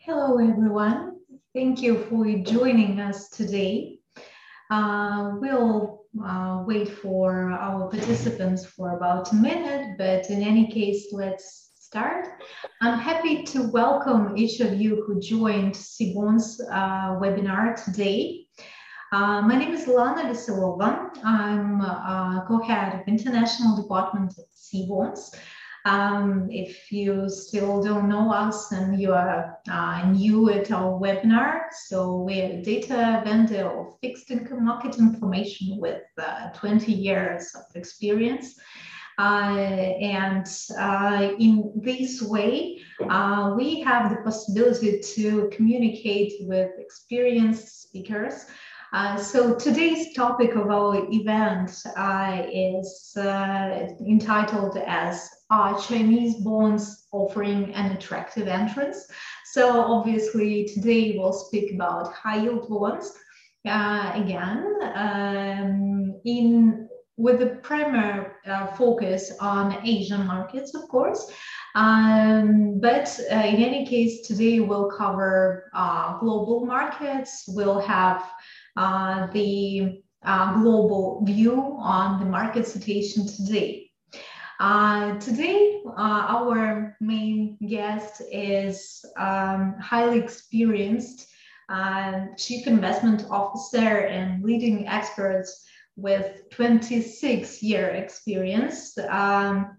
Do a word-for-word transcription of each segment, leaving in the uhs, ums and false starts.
Hello, everyone. Thank you for joining us today. Uh, we'll uh, wait for our participants for about a minute, but in any case, let's start. I'm happy to welcome each of you who joined SIBON's uh, webinar today. Uh, my name is Lana Veselova. I'm uh, co-head of International Department at SIBON's. Um, if you still don't know us and you are uh, new at our webinar, so we're a data vendor of fixed income market information with uh, twenty years of experience. Uh, and uh, in this way, uh, we have the possibility to communicate with experienced speakers. Uh, so today's topic of our event uh, is uh, entitled as Are Chinese Bonds Offering an Attractive Entrance? So obviously today we'll speak about high yield bonds uh, again um, in with the primary uh, focus on Asian markets, of course. Um, but uh, in any case, today we'll cover uh, global markets. We'll have Uh, the uh, global view on the market situation today. Uh, today, uh, our main guest is um, highly experienced uh, chief investment officer and leading experts with twenty-six year experience, um,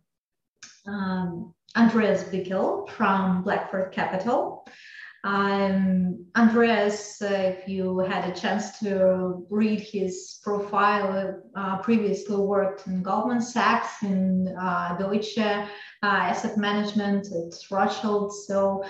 um, Andreas Bickel from Blackford Capital. Um, Andreas, uh, if you had a chance to read his profile, uh, previously worked in Goldman Sachs, in uh, Deutsche uh, Asset Management at Rothschild. So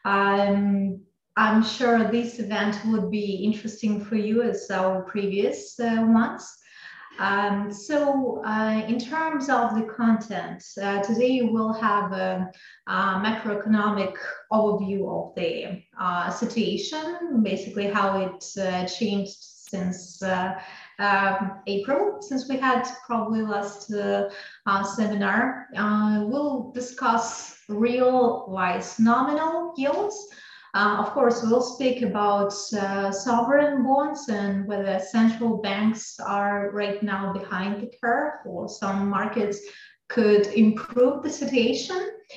um, I'm sure this event would be interesting for you as our previous uh, ones. Um, so uh, in terms of the content, uh, today we'll have a, a macroeconomic overview of the uh, situation, basically how it uh, changed since uh, um, April, since we had probably last uh, uh, seminar. Uh, we'll discuss real versus nominal yields. Uh, of course, we'll speak about uh, sovereign bonds and whether central banks are right now behind the curve or some markets could improve the situation.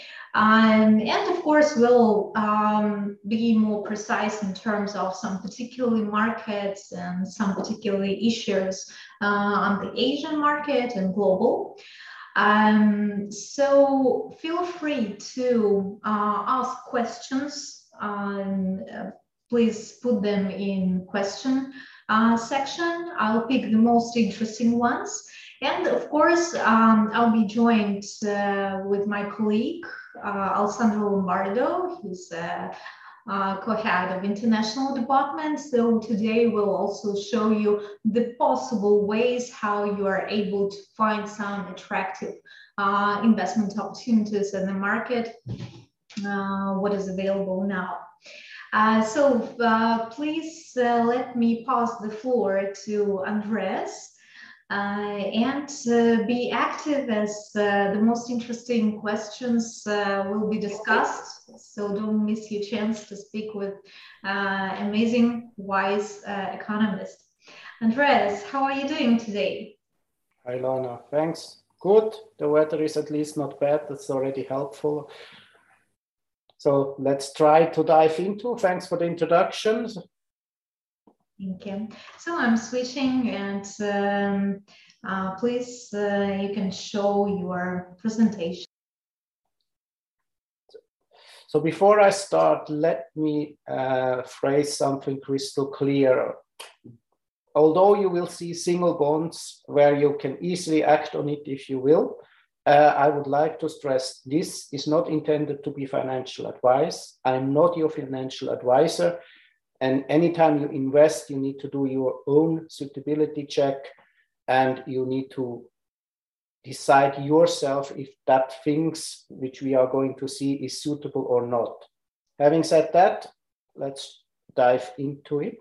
Um, and of course, we'll um, be more precise in terms of some particular markets and some particular issues uh, on the Asian market and global. Um, so feel free to uh, ask questions. Um, uh, please put them in question uh, section. I'll pick the most interesting ones. And of course, um, I'll be joined uh, with my colleague, uh, Alessandro Lombardo. He's uh, uh, co-head of International Department. So today we'll also show you the possible ways how you are able to find some attractive uh, investment opportunities in the market. Uh, what is available now. Uh, so uh, please uh, let me pass the floor to Andreas uh, and uh, be active as uh, the most interesting questions uh, will be discussed. So don't miss your chance to speak with uh, amazing, wise uh, economist. Andreas, how are you doing today? Hi, Lana. Thanks. Good. The weather is at least not bad. That's already helpful. So let's try to dive into. Thanks for the introduction. Thank you. So I'm switching, and um, uh, please, uh, you can show your presentation. So before I start, let me uh, phrase something crystal clear. Although you will see single bonds where you can easily act on it if you will, Uh, I would like to stress this is not intended to be financial advice. I'm not your financial advisor. And anytime you invest, you need to do your own suitability check and you need to decide yourself if that things which we are going to see is suitable or not. Having said that, let's dive into it.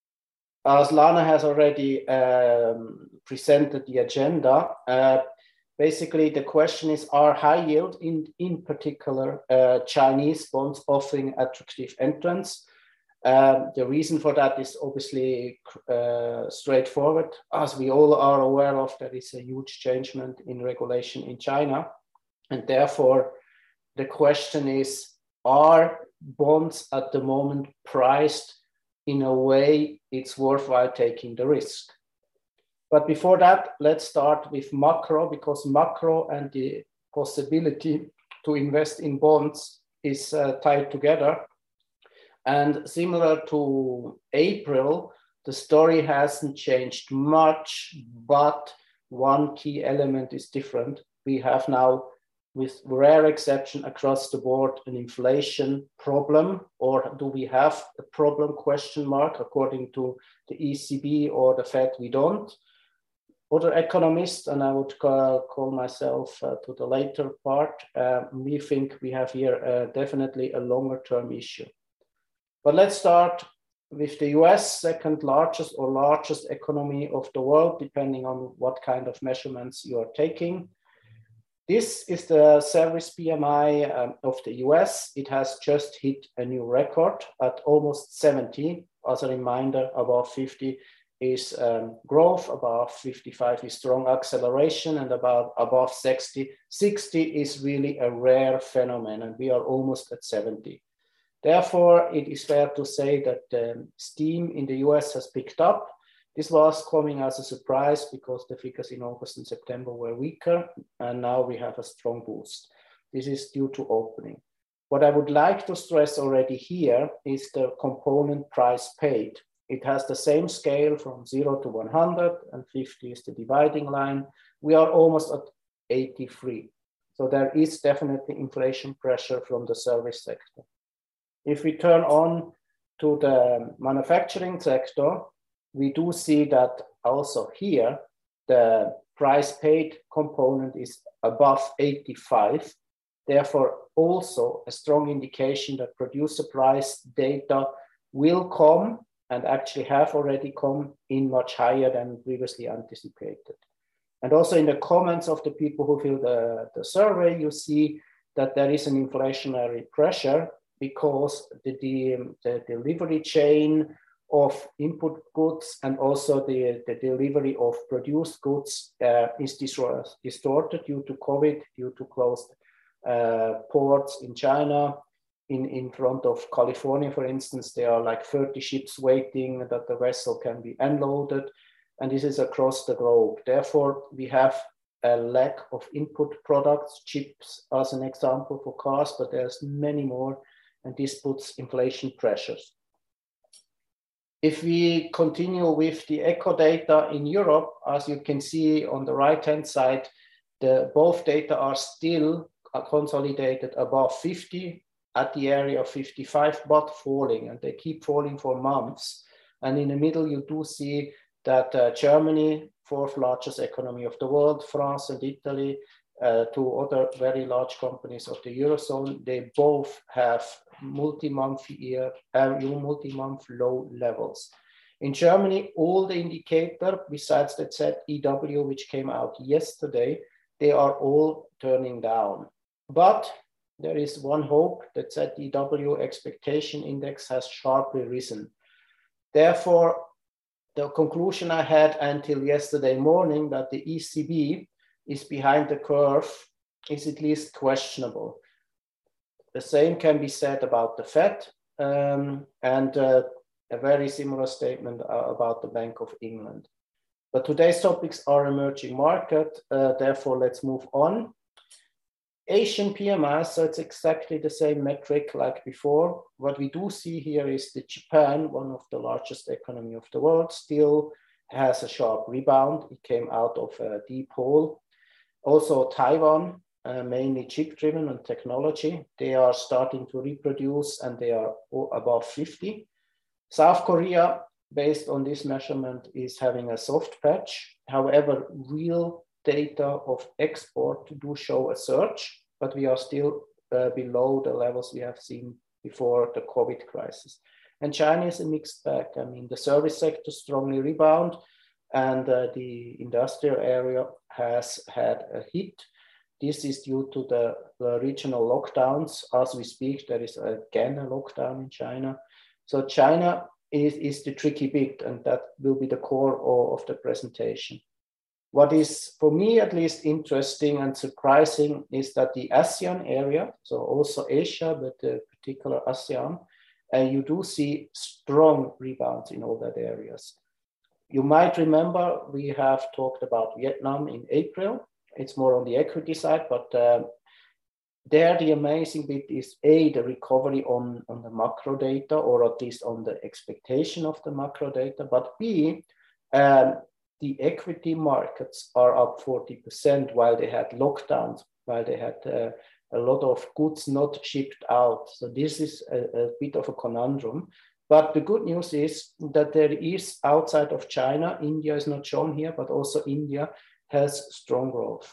As Lana has already um, presented the agenda, uh, basically the question is, are high yield, in, in particular uh, Chinese bonds, offering attractive entrants? Um, the reason for that is obviously uh, straightforward. As we all are aware of, there is a huge changement in regulation in China. And therefore, the question is, are bonds at the moment priced in a way it's worthwhile taking the risk? But before that, let's start with macro, because macro and the possibility to invest in bonds is uh, tied together. And similar to April, the story hasn't changed much, but one key element is different. We have now, with rare exception across the board, an inflation problem, or do we have a problem, question mark, according to the E C B or the Fed, we don't. Other economists, and I would call, call myself uh, to the later part, uh, we think we have here uh, definitely a longer term issue. But let's start with the U S, second largest or largest economy of the world, depending on what kind of measurements you are taking. This is the service P M I um, of the U S. It has just hit a new record at almost seventy. As a reminder, above fifty is um, growth, above fifty-five is strong acceleration, and about above sixty, sixty is really a rare phenomenon, and we are almost at seventy. Therefore, it is fair to say that the steam in the U S has picked up. This was coming as a surprise because the figures in August and September were weaker, and now we have a strong boost. This is due to opening. What I would like to stress already here is the component price paid. It has the same scale from zero to one hundred, and fifty is the dividing line. We are almost at eighty-three. So there is definitely inflation pressure from the service sector. If we turn on to the manufacturing sector, we do see that also here, the price paid component is above eighty-five. Therefore, also a strong indication that producer price data will come, and actually have already come in much higher than previously anticipated. And also in the comments of the people who fill the, the survey, you see that there is an inflationary pressure because the, the, the delivery chain of input goods and also the, the delivery of produced goods uh, is distorted due to COVID, due to closed uh, ports in China. In, in front of California, for instance, there are like thirty ships waiting that the vessel can be unloaded, and this is across the globe. Therefore, we have a lack of input products, chips as an example for cars, but there's many more, and this puts inflation pressures. If we continue with the echo data in Europe, as you can see on the right-hand side, the both data are still consolidated above fifty, at the area of fifty-five, but falling, and they keep falling for months. And in the middle, you do see that uh, Germany, fourth largest economy of the world, France and Italy, uh, two other very large companies of the Eurozone, they both have multi-month year, uh, multi-month low levels. In Germany, all the indicator, besides the Z E W, which came out yesterday, they are all turning down. But there is one hope, that Z E W expectation index has sharply risen. Therefore, the conclusion I had until yesterday morning that the E C B is behind the curve is at least questionable. The same can be said about the Fed, um, and uh, a very similar statement uh, about the Bank of England. But today's topics are emerging market, uh, therefore let's move on. Asian P M I, so it's exactly the same metric like before. What we do see here is that Japan, one of the largest economy of the world, still has a sharp rebound. It came out of a deep hole. Also Taiwan, uh, mainly chip-driven and technology, they are starting to reproduce and they are above fifty. South Korea, based on this measurement, is having a soft patch. However, real data of export do show a surge, but we are still uh, below the levels we have seen before the COVID crisis. And China is a mixed bag. I mean, the service sector strongly rebound, and uh, the industrial area has had a hit. This is due to the, the regional lockdowns. As we speak, there is again a lockdown in China. So China is, is the tricky bit, and that will be the core of, of the presentation. What is, for me at least, interesting and surprising is that the ASEAN area, so also Asia, but uh, particular ASEAN, and uh, you do see strong rebounds in all that areas. You might remember we have talked about Vietnam in April. It's more on the equity side, but uh, there the amazing bit is A, the recovery on, on the macro data, or at least on the expectation of the macro data, but B, um, the equity markets are up forty percent while they had lockdowns, while they had uh, a lot of goods not shipped out. So this is a, a bit of a conundrum. But the good news is that there is, outside of China, India is not shown here, but also India has strong growth.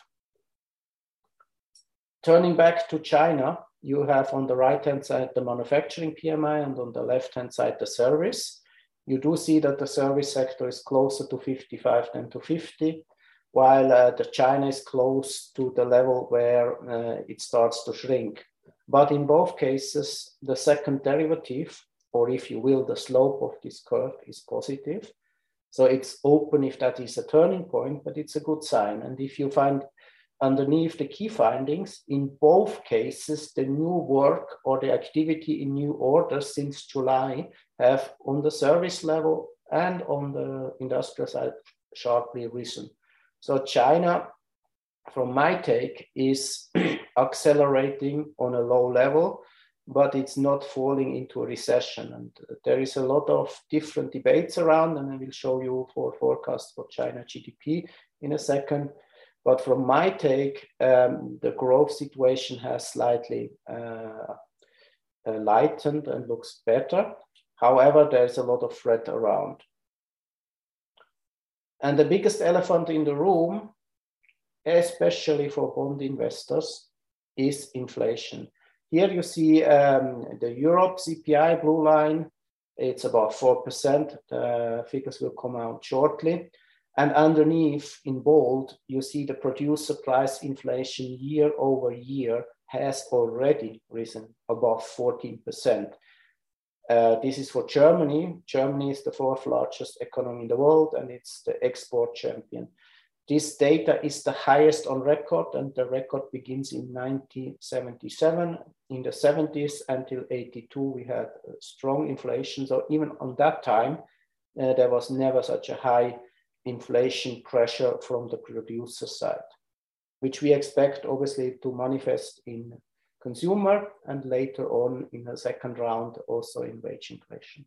Turning back to China, you have on the right-hand side the manufacturing P M I and on the left-hand side the service. You do see that the service sector is closer to fifty-five than to fifty, while uh, the China is close to the level where uh, it starts to shrink. But in both cases, the second derivative, or if you will, the slope of this curve is positive. So it's open if that is a turning point, but it's a good sign. And if you find underneath the key findings, in both cases, the new work or the activity in new orders since July have on the service level and on the industrial side sharply risen. So China, from my take, is accelerating on a low level, but it's not falling into a recession. And there is a lot of different debates around, and I will show you for forecasts for China G D P in a second. But from my take, um, the growth situation has slightly uh, uh, lightened and looks better. However, there's a lot of threat around. And the biggest elephant in the room, especially for bond investors, is inflation. Here you see um, the Europe C P I blue line. It's about four percent. The figures will come out shortly. And underneath in bold, you see the producer price inflation year over year has already risen above fourteen percent. Uh, this is for Germany. Germany is the fourth largest economy in the world, and it's the export champion. This data is the highest on record, and the record begins in nineteen seventy-seven. In the seventies until eighty-two, we had strong inflation. So even on that time, uh, there was never such a high inflation pressure from the producer side, which we expect obviously to manifest in consumer and later on in a second round also in wage inflation.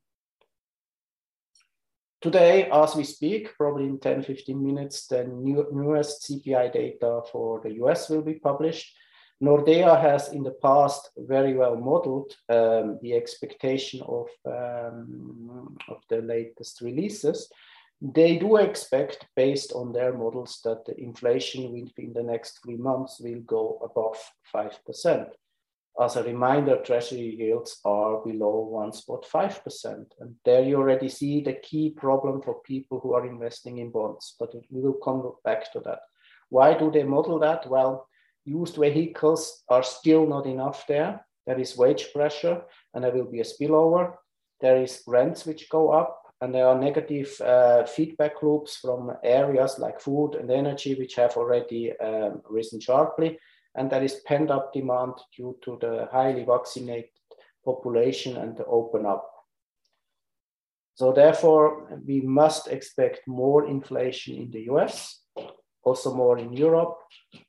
Today, as we speak, probably in ten, fifteen minutes, the new, newest C P I data for the U S will be published. Nordea has in the past very well modeled um, the expectation of, um, of the latest releases. They do expect, based on their models, that the inflation within the next three months will go above five percent. As a reminder, treasury yields are below one point five percent. And there you already see the key problem for people who are investing in bonds, but we will come back to that. Why do they model that? Well, used vehicles are still not enough there. There is wage pressure and there will be a spillover. There is rents which go up. And there are negative uh, feedback loops from areas like food and energy, which have already um, risen sharply. And there is pent-up demand due to the highly vaccinated population and the open up. So therefore, we must expect more inflation in the U S, also more in Europe.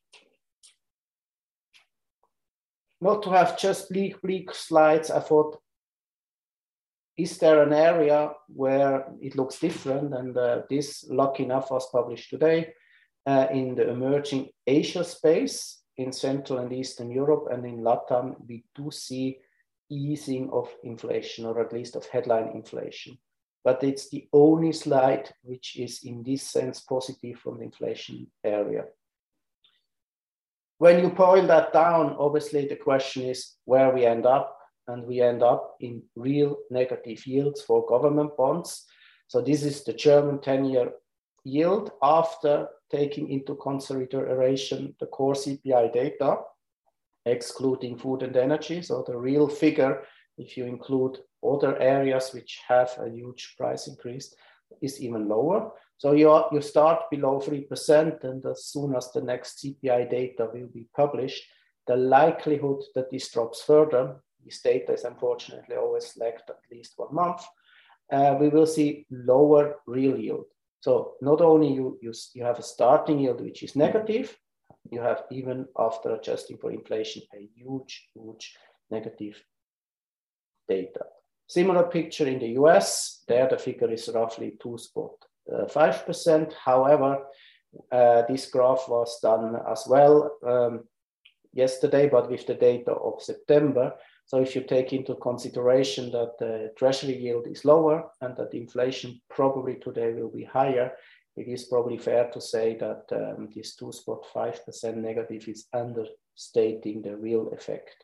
Not to have just bleak, bleak slides, I thought, is there an area where it looks different? And uh, this, lucky enough, was published today uh, in the emerging Asia space, in Central and Eastern Europe, and in LATAM, we do see easing of inflation, or at least of headline inflation. But it's the only slide which is in this sense positive from the inflation area. When you boil that down, obviously the question is where we end up. And we end up in real negative yields for government bonds. So this is the German ten-year yield after taking into consideration the core C P I data, excluding food and energy. So the real figure, if you include other areas which have a huge price increase, is even lower. So you, are, you start below three percent, and as soon as the next C P I data will be published, the likelihood that this drops further, this data is unfortunately always lagged at least one month, uh, we will see lower real yield. So not only you, you, you have a starting yield which is negative, you have even after adjusting for inflation a huge, huge negative data. Similar picture in the U S, there the figure is roughly two point five percent. However, uh, this graph was done as well um, yesterday, but with the data of September. So if you take into consideration that the treasury yield is lower and that inflation probably today will be higher, it is probably fair to say that um, this two point five percent negative is understating the real effect.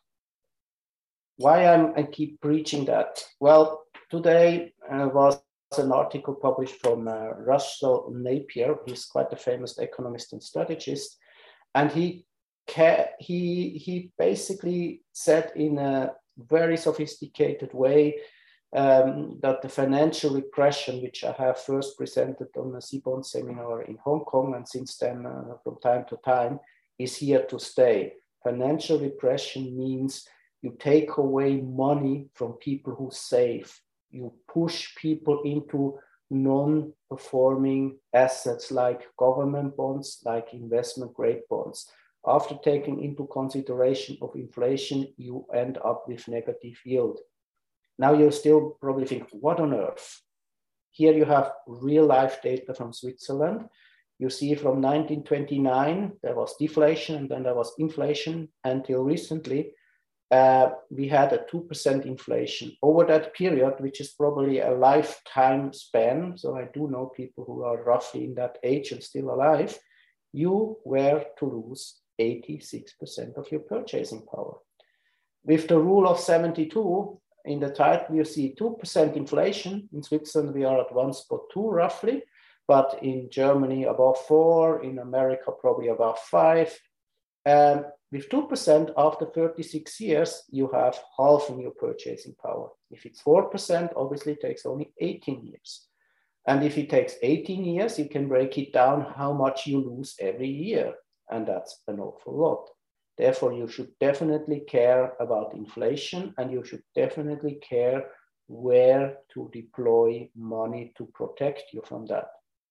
Why I'm, I keep preaching that? Well, today uh, was an article published from uh, Russell Napier. He's quite a famous economist and strategist. And he, he, he basically said in a very sophisticated way um, that the financial repression, which I have first presented on a C bond seminar in Hong Kong, and since then uh, from time to time, is here to stay. Financial repression means you take away money from people who save. You push people into non-performing assets like government bonds, like investment grade bonds. After taking into consideration of inflation, you end up with negative yield. Now you still probably think, what on earth? Here you have real life data from Switzerland. You see from nineteen twenty-nine, there was deflation and then there was inflation until recently. Uh, we had a two percent inflation. Over that period, which is probably a lifetime span, so I do know people who are roughly in that age and still alive, you were to lose eighty-six percent of your purchasing power. With the rule of seventy-two, in the title you see two percent inflation. In Switzerland, we are at one point two roughly, but in Germany above four, in America probably above five. Um, with two percent after thirty-six years, you have half in your purchasing power. If it's four percent, obviously it takes only eighteen years. And if it takes eighteen years, you can break it down how much you lose every year. And that's an awful lot. Therefore, you should definitely care about inflation, and you should definitely care where to deploy money to protect you from that.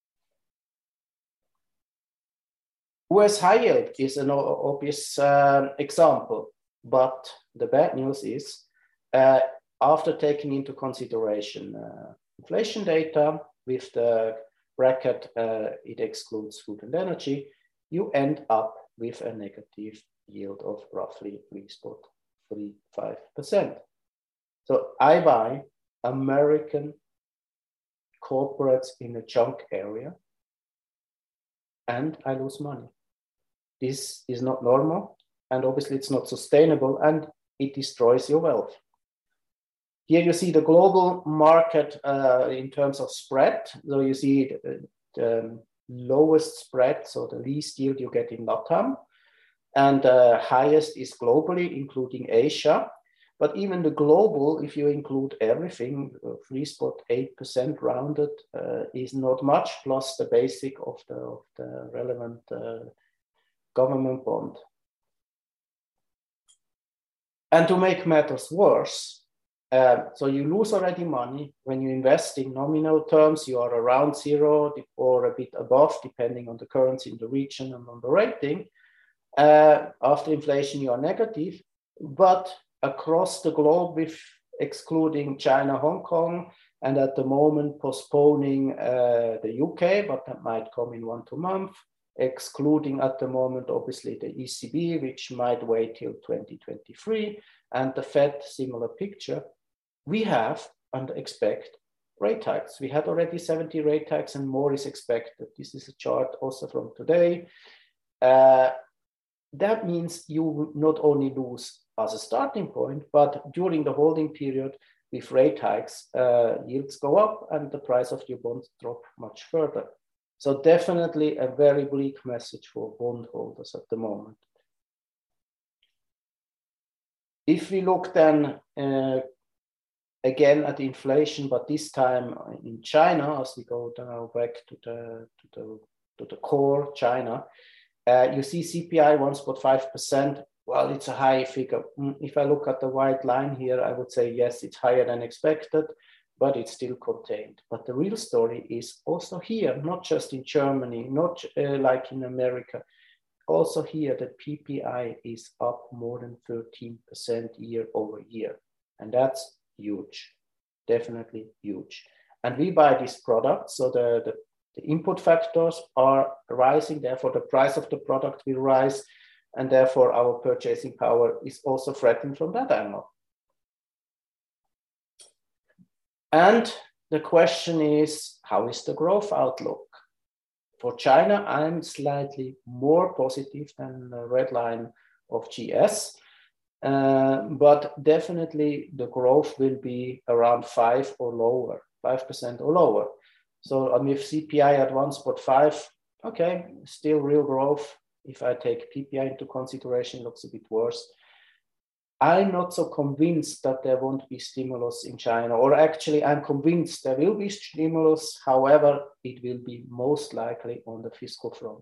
U S high yield is an obvious uh, example, but the bad news is uh, after taking into consideration uh, inflation data with the bracket, uh, it excludes food and energy, you end up with a negative yield of roughly three point three five percent. So I buy American corporates in a junk area and I lose money. This is not normal, and obviously it's not sustainable, and it destroys your wealth. Here you see the global market uh, in terms of spread. So you see the, the lowest spread, so the least yield you get in LATAM, and the highest is globally, including Asia. But even the global, if you include everything, three point eight percent rounded uh, is not much, plus the basic of the, of the relevant uh, government bond. And to make matters worse, uh, so you lose already money. When you invest in nominal terms, you are around zero or a bit above, depending on the currency in the region and on the rating. Uh, after inflation, you are negative, but across the globe, with excluding China, Hong Kong, and at the moment postponing uh, the U K, but that might come in one, two months, excluding at the moment, obviously, the E C B, which might wait till twenty twenty-three, and the Fed, similar picture. We have and expect rate hikes. We had already seventy rate hikes and more is expected. This is a chart also from today. Uh, that means you not only lose as a starting point, but during the holding period with rate hikes, uh, yields go up and the price of your bonds drop much further. So definitely a very bleak message for bondholders at the moment. If we look then uh, again at the inflation, but this time in China, as we go now back to the to the to the core China, uh, you see C P I one point five percent. Well, it's a high figure. If I look at the white line here, I would say yes, it's higher than expected, but it's still contained. But the real story is also here, not just in Germany, not uh, like in America. Also here, the P P I is up more than thirteen percent year over year. And that's huge, definitely huge. And we buy this product, so the, the, the input factors are rising, therefore the price of the product will rise, and therefore our purchasing power is also threatened from that angle. And the question is, how is the growth outlook? For China, I'm slightly more positive than the red line of G S, uh, but definitely the growth will be around five or lower, five percent or lower. So um, with C P I at one point five, okay, still real growth. If I take P P I into consideration, it looks a bit worse. I'm not so convinced that there won't be stimulus in China, or actually I'm convinced there will be stimulus. However, it will be most likely on the fiscal front.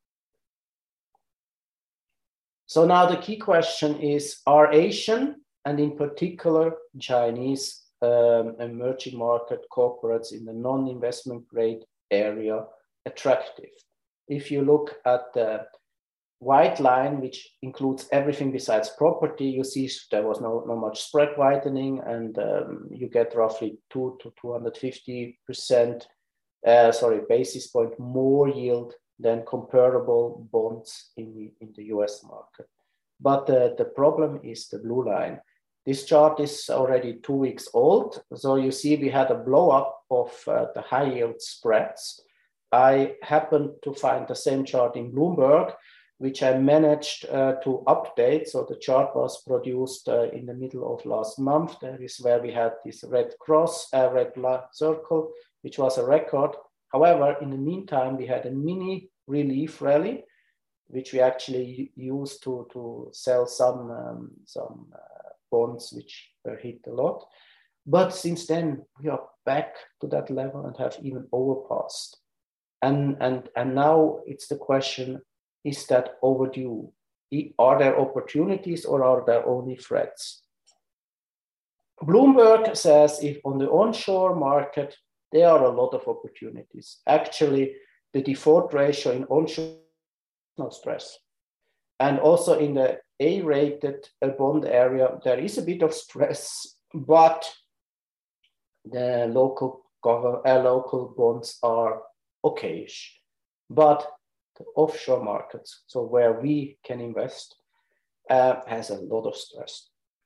So now the key question is, are Asian and in particular Chinese um, emerging market corporates in the non-investment grade area attractive? If you look at the white line, which includes everything besides property, you see there was no, no much spread widening, and um, you get roughly two to two hundred fifty percent, uh, sorry, basis point more yield than comparable bonds in the, in the U S market. But uh, the problem is the blue line. This chart is already two weeks old. So you see we had a blow up of uh, the high yield spreads. I happened to find the same chart in Bloomberg, which I managed uh, to update. So the chart was produced uh, in the middle of last month. That is where we had this red cross, uh, red circle, which was a record. However, in the meantime, we had a mini relief rally, which we actually used to, to sell some, um, some uh, bonds which were hit a lot. But since then, we are back to that level and have even overpassed. And, and, and now it's the question, is that overdue? Are there opportunities or are there only threats? Bloomberg says if on the onshore market, there are a lot of opportunities. Actually, the default ratio in onshore, no stress. And also in the A-rated bond area, there is a bit of stress, but the local, government, uh, local bonds are okayish. But the offshore markets, so where we can invest, uh, has a lot of stress.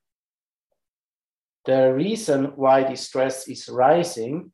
The reason why the stress is rising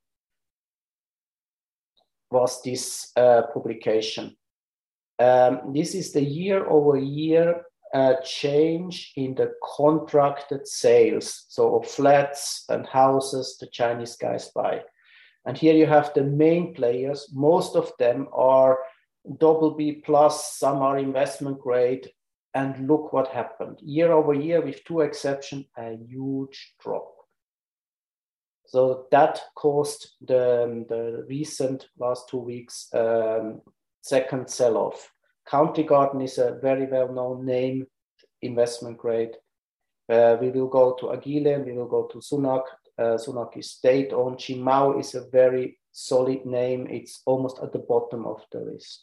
was this uh, publication. Um, this is the year over year uh, change in the contracted sales, so of flats and houses the Chinese guys buy. And here you have the main players. Most of them are double B plus, some are investment grade, and look what happened. Year over year, with two exceptions, a huge drop. So that caused the, the recent last two weeks um, second sell-off. Country Garden is a very well-known name, investment grade. Uh, we will go to Agile, we will go to Sunac. Uh, Sunac is state-owned. Qimao is a very solid name. It's almost at the bottom of the list.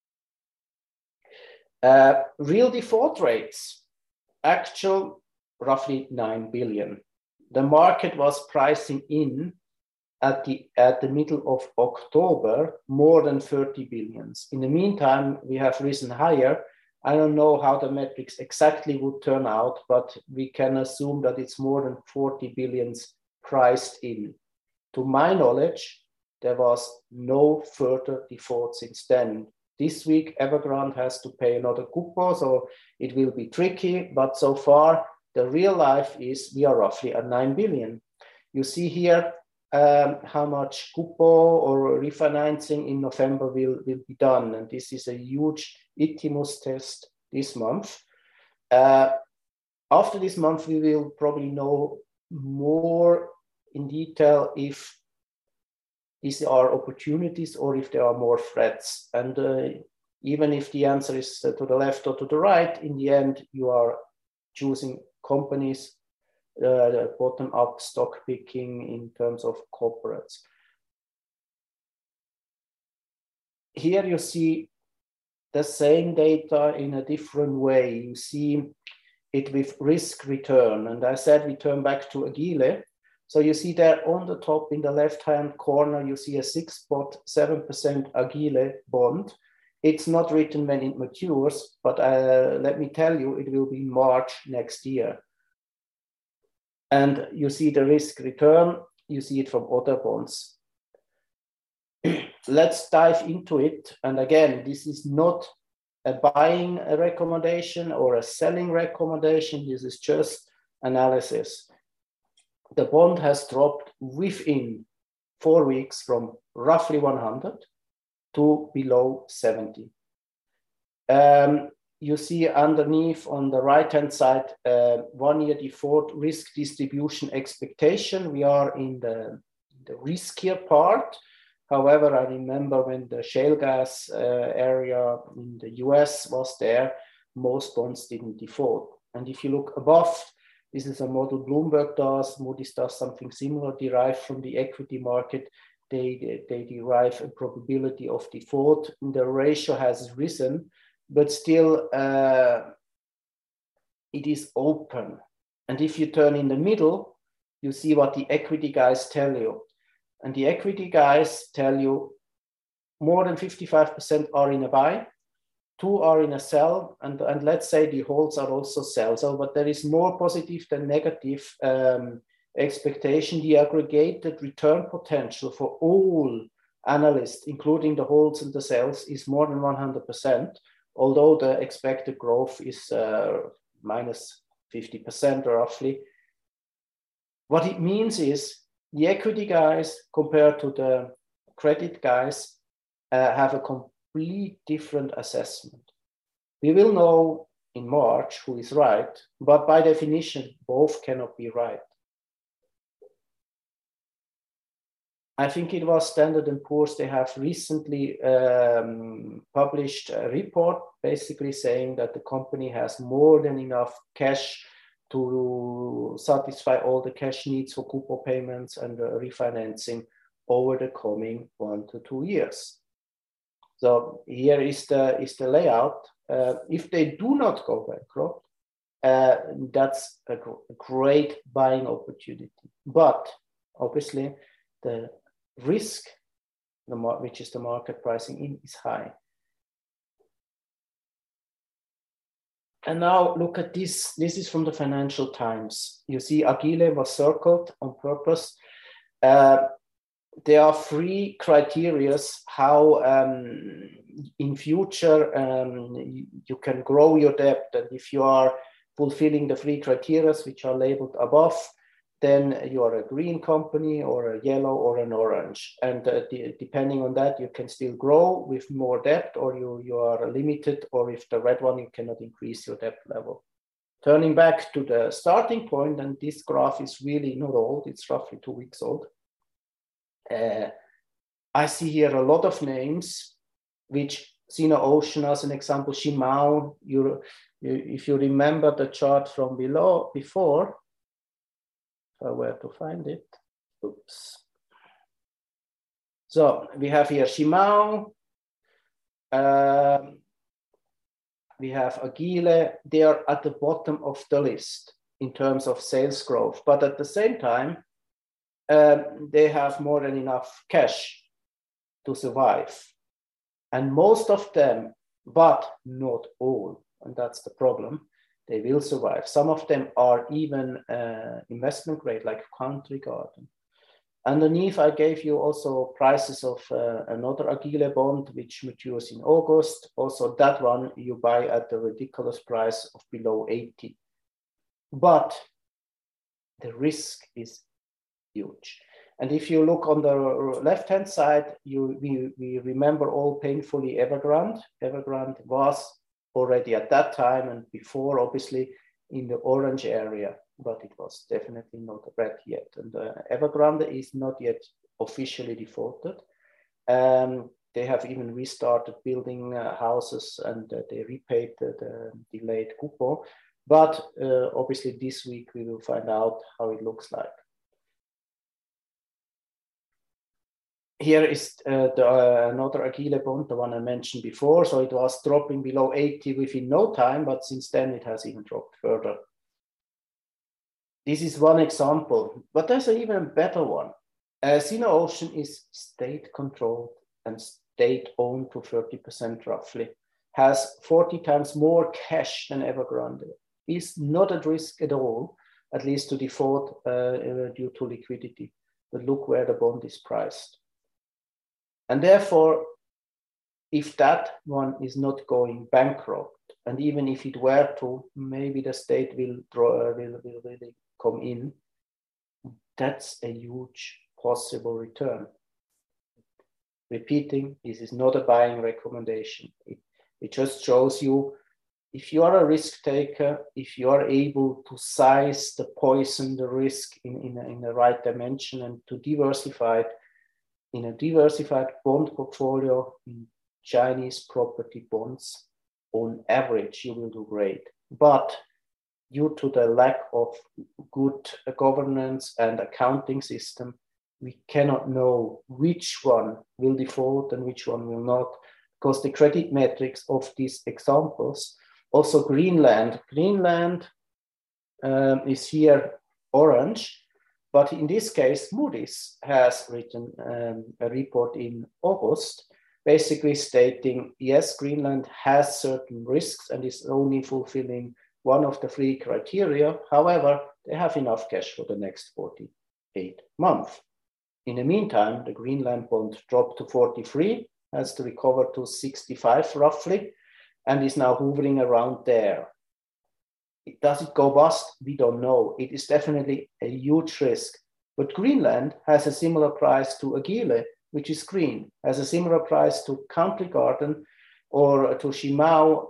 Uh, real default rates, actual roughly nine billion. The market was pricing in at the, at the middle of October more than thirty billions. In the meantime, we have risen higher. I don't know how the metrics exactly would turn out, but we can assume that it's more than forty billions priced in. To my knowledge, there was no further default since then. This week, Evergrande has to pay another coupon, so it will be tricky. But so far, the real life is we are roughly at nine billion. You see here um, how much coupon or refinancing in November will, will be done. And this is a huge I T M O S test this month. Uh, after this month, we will probably know more in detail if these are opportunities or if there are more threats. And uh, even if the answer is uh, to the left or to the right, in the end, you are choosing companies, uh, bottom-up stock picking in terms of corporates. Here you see the same data in a different way. You see it with risk return. And I said we turn back to Agile. So you see there on the top in the left-hand corner, you see a six point seven percent Agile bond. It's not written when it matures, but uh, let me tell you, it will be March next year. And you see the risk return, you see it from other bonds. Let's dive into it. And again, this is not a buying recommendation or a selling recommendation. This is just analysis. The bond has dropped within four weeks from roughly one hundred to below seventy. Um, you see underneath on the right-hand side, uh, one-year default risk distribution expectation. We are in the, the riskier part. However, I remember when the shale gas uh, area in the U S was there, most bonds didn't default. And if you look above, this is a model Bloomberg does, Moody's does something similar, derived from the equity market. They, they, they derive a probability of default. And the ratio has risen, but still uh, it is open. And if you turn in the middle, you see what the equity guys tell you. And the equity guys tell you more than fifty-five percent are in a buy, two are in a sell, and, and let's say the holds are also sell. So, but there is more positive than negative um, expectation. The aggregated return potential for all analysts, including the holds and the sells, is more than one hundred percent, although the expected growth is uh, minus fifty percent roughly. What it means is the equity guys compared to the credit guys uh, have a complete different assessment. We will know in March who is right, but by definition, both cannot be right. I think it was Standard and Poor's, they have recently um, published a report basically saying that the company has more than enough cash to satisfy all the cash needs for coupon payments and uh, refinancing over the coming one to two years. So here is the, is the layout. Uh, if they do not go bankrupt, uh, that's a, gr a great buying opportunity. But obviously the risk, the which is the market pricing in, is high. And now look at this. This is from the Financial Times. You see Agile was circled on purpose. Uh, there are three criteria how um, in future um, you, you can grow your debt. And if you are fulfilling the three criteria which are labeled above, then you are a green company or a yellow or an orange. And uh, the, depending on that, you can still grow with more debt, or you, you are limited, or if the red one, you cannot increase your debt level. Turning back to the starting point, and this graph is really not old, it's roughly two weeks old. Uh, I see here a lot of names, which Sino Ocean as an example, Shimao, you, you, if you remember the chart from below before, Uh, where to find it. Oops. So we have here Shimao, um, we have Agile. They are at the bottom of the list in terms of sales growth, but at the same time, um, they have more than enough cash to survive. And most of them, but not all, and that's the problem, they will survive. Some of them are even uh, investment grade, like Country Garden. Underneath, I gave you also prices of uh, another Agile bond, which matures in August. Also, that one you buy at the ridiculous price of below eighty. But the risk is huge. And if you look on the left-hand side, you, we, we remember all painfully Evergrande. Evergrande was already at that time and before, obviously, in the orange area, but it was definitely not red yet. And uh, Evergrande is not yet officially defaulted. Um, they have even restarted building uh, houses, and uh, they repaid the, the delayed coupon. But uh, obviously this week we will find out how it looks like. Here is uh, the, uh, another Agile bond, the one I mentioned before. So it was dropping below eighty within no time, but since then it has even dropped further. This is one example, but there's an even better one. Uh, Sino Ocean is state-controlled and state-owned to thirty percent roughly, has forty times more cash than Evergrande, is not at risk at all, at least to default uh, uh, due to liquidity. But look where the bond is priced. And therefore, if that one is not going bankrupt, and even if it were to, maybe the state will, draw, will, will really come in, that's a huge possible return. Repeating, this is not a buying recommendation. It, it just shows you, if you are a risk taker, if you are able to size the poison, the risk in, in, in the right dimension, and to diversify it, in a diversified bond portfolio in Chinese property bonds, on average, you will do great. But due to the lack of good governance and accounting system, we cannot know which one will default and which one will not, because the credit metrics of these examples, also Greenland, Greenland um, is here orange. But in this case, Moody's has written um, a report in August, basically stating, yes, Greenland has certain risks and is only fulfilling one of the three criteria. However, they have enough cash for the next forty-eight months. In the meantime, the Greenland bond dropped to forty-three, has to recover to sixty-five roughly, and is now hovering around there. Does it go bust? We don't know. It is definitely a huge risk. But Greenland has a similar price to Agile, which is green, has a similar price to Country Garden or to Shimao,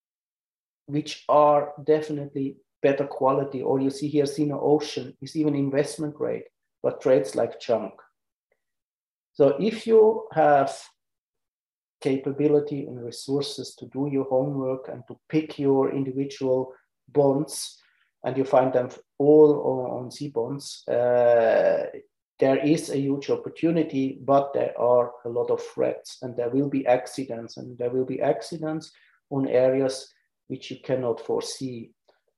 which are definitely better quality. Or you see here, Sino Ocean is even investment grade, but trades like junk. So if you have capability and resources to do your homework and to pick your individual bonds, and you find them all on, on C bonds, uh, there is a huge opportunity, but there are a lot of threats, and there will be accidents, and there will be accidents on areas which you cannot foresee.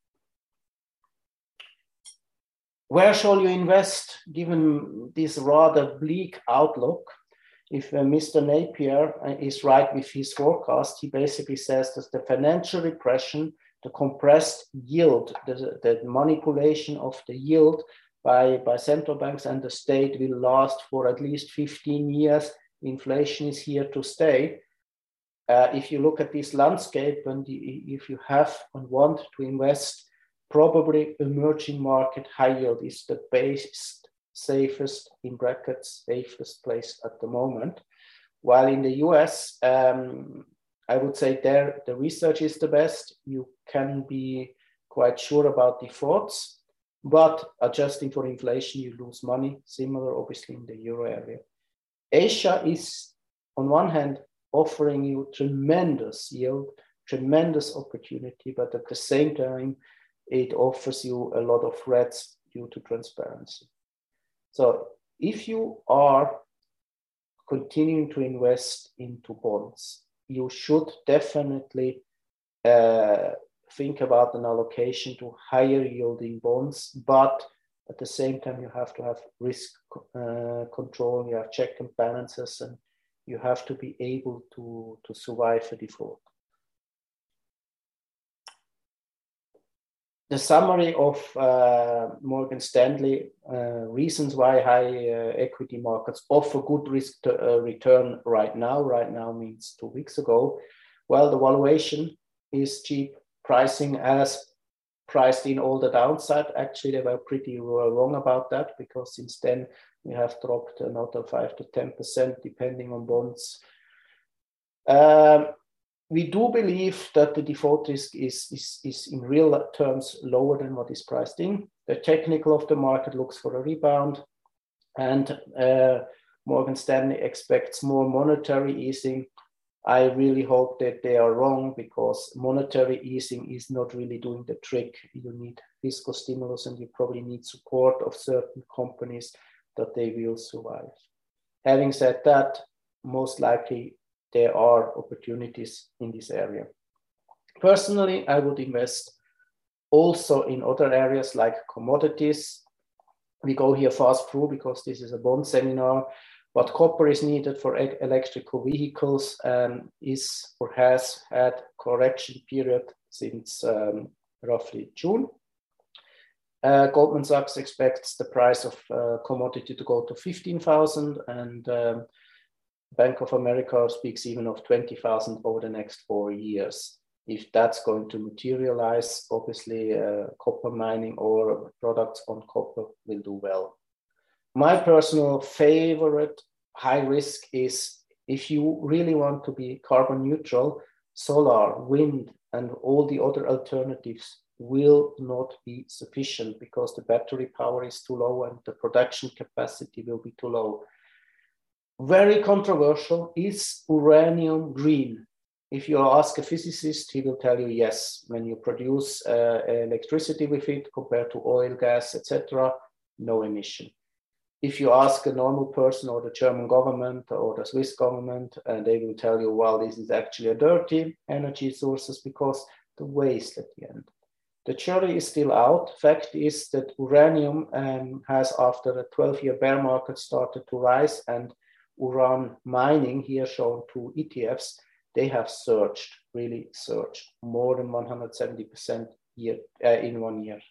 Where shall you invest given this rather bleak outlook? If uh, Mister Napier is right with his forecast, he basically says that the financial repression, the compressed yield, the, the manipulation of the yield by, by central banks and the state will last for at least fifteen years. Inflation is here to stay. Uh, if you look at this landscape, and if you have and want to invest, probably emerging market high yield is the best, safest, in brackets, safest place at the moment. While in the U S, um, I would say there the research is the best. You can be quite sure about defaults, but adjusting for inflation, you lose money. Similar, obviously, in the euro area. Asia is, on one hand, offering you tremendous yield, tremendous opportunity, but at the same time, it offers you a lot of threats due to transparency. So if you are continuing to invest into bonds, you should definitely uh, think about an allocation to higher yielding bonds, but at the same time, you have to have risk uh, control, you have check and balances, and you have to be able to, to survive a default. The summary of uh, Morgan Stanley uh, reasons why high uh, equity markets offer good risk to, uh, return right now. Right now means two weeks ago. Well, the valuation is cheap, pricing as priced in all the downside. Actually, they were pretty wrong about that, because since then we have dropped another five to ten percent depending on bonds. Um, we do believe that the default risk is, is, is in real terms lower than what is priced in. The technical of the market looks for a rebound, and uh, Morgan Stanley expects more monetary easing. I really hope that they are wrong, because monetary easing is not really doing the trick. You need fiscal stimulus, and you probably need support of certain companies that they will survive. Having said that, most likely there are opportunities in this area. Personally, I would invest also in other areas like commodities. We go here fast through because this is a bond seminar, but copper is needed for e- electrical vehicles and is or has had correction period since um, roughly June. Uh, Goldman Sachs expects the price of uh, commodity to go to fifteen thousand, and um, Bank of America speaks even of twenty thousand over the next four years. If that's going to materialize, obviously uh, copper mining or products on copper will do well. My personal favorite high risk is, if you really want to be carbon neutral, solar, wind, and all the other alternatives will not be sufficient, because the battery power is too low and the production capacity will be too low. Very controversial. Is uranium green? If you ask a physicist, he will tell you yes. When you produce uh, electricity with it compared to oil, gas, et cetera, no emission. If you ask a normal person or the German government or the Swiss government, uh, they will tell you, well, this is actually a dirty energy sources because the waste at the end. The jury is still out. Fact is that uranium um, has, after a twelve-year bear market, started to rise, and uran mining, here shown two E T Fs, they have surged, really surged, more than one hundred seventy percent year, uh, in one year.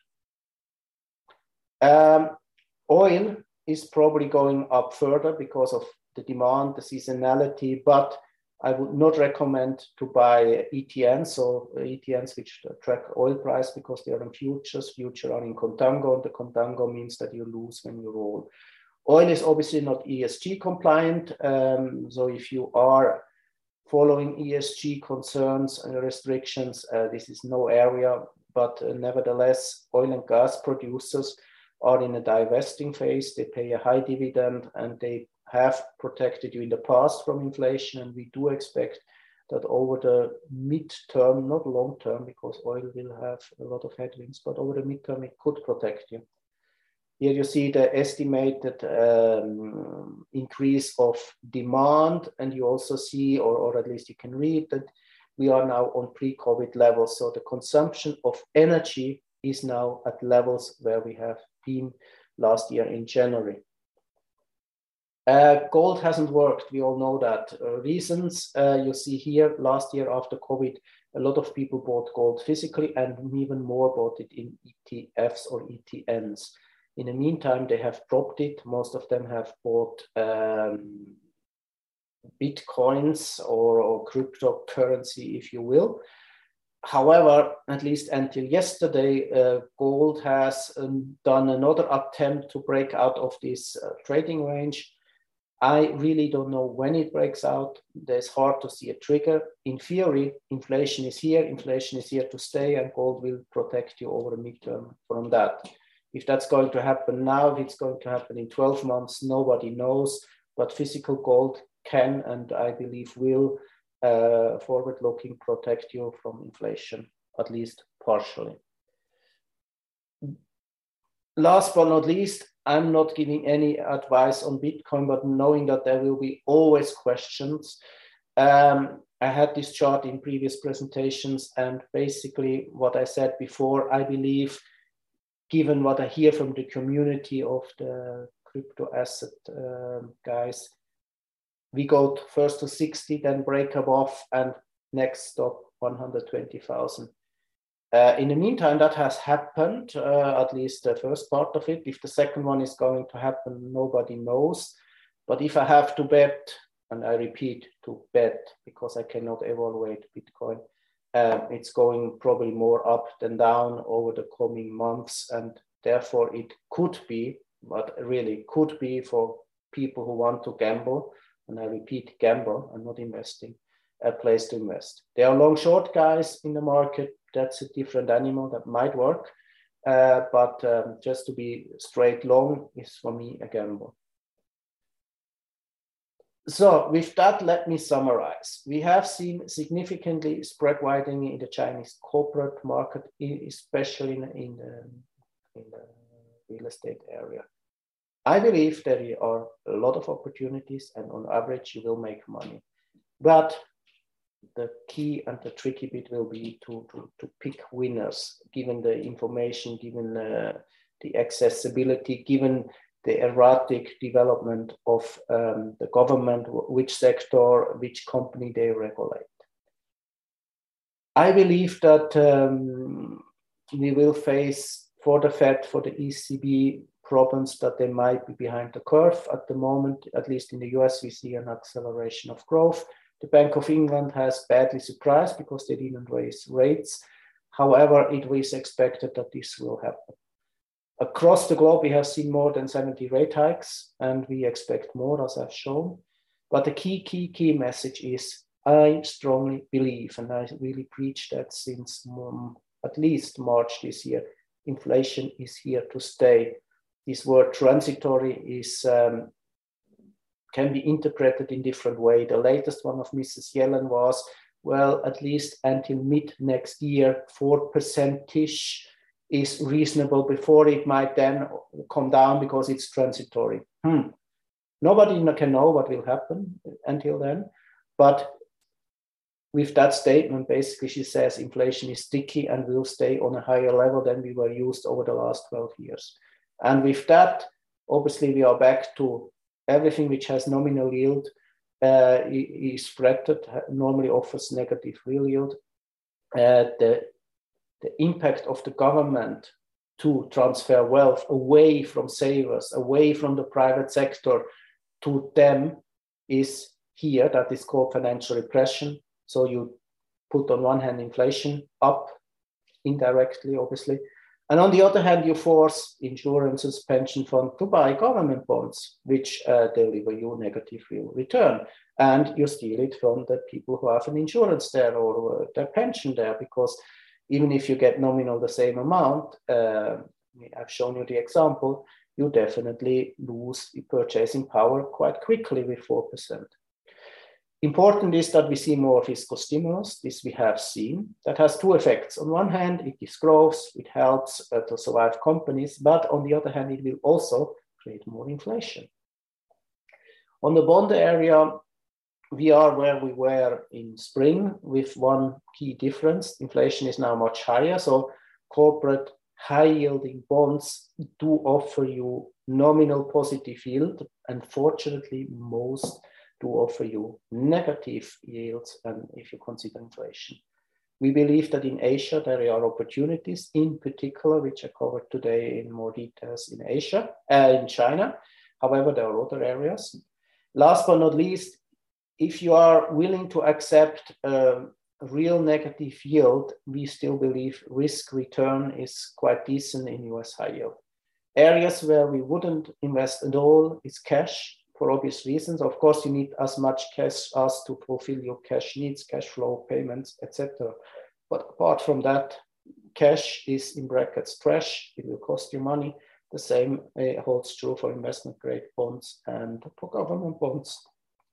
Um, oil is probably going up further because of the demand, the seasonality, but I would not recommend to buy E T Ns, so E T Ns which track oil price, because they are in futures. Futures are in contango, and the contango means that you lose when you roll. Oil is obviously not E S G compliant, um, so if you are following E S G concerns and restrictions, uh, this is no area, but uh, nevertheless, oil and gas producers are in a divesting phase. They pay a high dividend, and they have protected you in the past from inflation, and we do expect that over the mid-term, not long-term, because oil will have a lot of headwinds, but over the mid-term it could protect you. Here you see the estimated um, increase of demand, and you also see, or, or at least you can read, that we are now on pre-COVID levels. So the consumption of energy is now at levels where we have been last year in January. Uh, gold hasn't worked, we all know that. Uh, reasons uh, you see here, last year after COVID, a lot of people bought gold physically, and even more bought it in E T Fs or E T Ns. In the meantime, they have dropped it. Most of them have bought um, Bitcoins or, or cryptocurrency, if you will. However, at least until yesterday, uh, gold has um, done another attempt to break out of this uh, trading range. I really don't know when it breaks out. There's hard to see a trigger. In theory, inflation is here. Inflation is here to stay, and gold will protect you over the midterm from that. If that's going to happen now, if it's going to happen in twelve months, nobody knows. But physical gold can, and I believe will, uh, forward-looking, protect you from inflation, at least partially. Last but not least, I'm not giving any advice on Bitcoin, but knowing that there will be always questions. Um, I had this chart in previous presentations, and basically what I said before, I believe, given what I hear from the community of the crypto asset um, guys, we go to first to sixty, then break above, and next stop one hundred twenty thousand. Uh, in the meantime, that has happened, uh, at least the first part of it. If the second one is going to happen, nobody knows. But if I have to bet, and I repeat, to bet, because I cannot evaluate Bitcoin, Uh, it's going probably more up than down over the coming months, and therefore it could be, but really could be for people who want to gamble, and I repeat, gamble and not investing, a place to invest. There are long short guys in the market. That's a different animal that might work. Uh, but um, just to be straight long is for me a gamble. So with that, let me summarize. We have seen significantly spread widening in the Chinese corporate market, especially in, in, the, in the real estate area. I believe there are a lot of opportunities, and on average, you will make money. But the key and the tricky bit will be to, to, to pick winners, given the information, given uh, the accessibility, given the erratic development of um, the government, which sector, which company they regulate. I believe that um, we will face for the Fed, for the E C B, problems that they might be behind the curve. At the moment, at least in the U S, we see an acceleration of growth. The Bank of England has badly surprised because they didn't raise rates. However, it was expected that this will happen. Across the globe, we have seen more than seventy rate hikes, and we expect more, as I've shown. But the key, key, key message is I strongly believe, and I really preach that since um, at least March this year, inflation is here to stay. This word transitory is um, can be interpreted in different ways. The latest one of Missus Yellen was, well, at least until mid next year, four percent-ish is reasonable before it might then come down because it's transitory. Hmm. Nobody can know what will happen until then. But with that statement, basically she says inflation is sticky and will stay on a higher level than we were used over the last twelve years. And with that, obviously we are back to everything which has nominal yield uh, is threatened, normally offers negative real yield. Uh, the, the impact of the government to transfer wealth away from savers, away from the private sector to them is here. That is called financial repression. So you put on one hand inflation up indirectly, obviously. And on the other hand, you force insurances, pension funds to buy government bonds, which uh, deliver you negative real return. And you steal it from the people who have an insurance there or uh, their pension there, because even if you get nominal the same amount, uh, I've shown you the example, you definitely lose purchasing power quite quickly with four percent. Important is that we see more fiscal stimulus. This we have seen. That has two effects. On one hand, it gives growth, it helps uh, to survive companies, but on the other hand, it will also create more inflation. On the bond area, we are where we were in spring with one key difference. Inflation is now much higher, so corporate high-yielding bonds do offer you nominal positive yield, and fortunately, most to offer you negative yields, and if you consider inflation. We believe that in Asia, there are opportunities, in particular, which I covered today in more details in Asia, uh, in China. However, there are other areas. Last but not least, if you are willing to accept a real negative yield, we still believe risk return is quite decent in U S high yield. Areas where we wouldn't invest at all is cash, for obvious reasons. Of course, you need as much cash as to fulfill your cash needs, cash flow, payments, et cetera. But apart from that, cash is in brackets trash. It will cost you money. The same uh, holds true for investment grade bonds and for government bonds.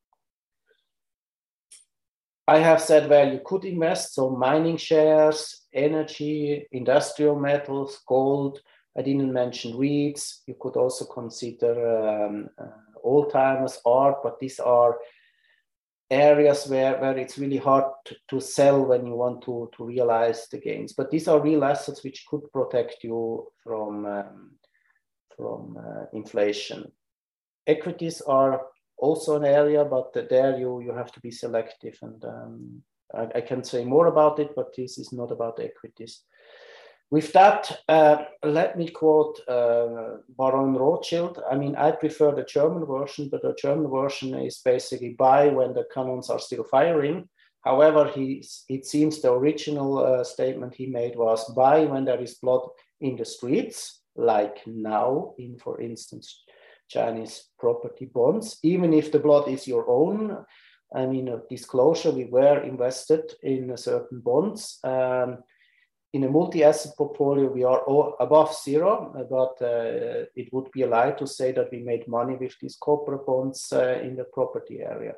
I have said where you could invest, so mining shares, energy, industrial metals, gold. I didn't mention REITs. You could also consider um, uh, old-timers, art, but these are areas where, where it's really hard to, to sell when you want to, to realize the gains. But these are real assets which could protect you from, um, from uh, inflation. Equities are also an area, but there you, you have to be selective. And um, I, I can say more about it, but this is not about equities. With that, uh, let me quote uh, Baron Rothschild. I mean, I prefer the German version, but the German version is basically buy when the cannons are still firing. However, he, it seems the original uh, statement he made was buy when there is blood in the streets, like now in, for instance, Chinese property bonds, even if the blood is your own. I mean, a disclosure, we were invested in certain bonds. Um, in a multi-asset portfolio, we are all above zero, but uh, it would be a lie to say that we made money with these corporate bonds uh, in the property area.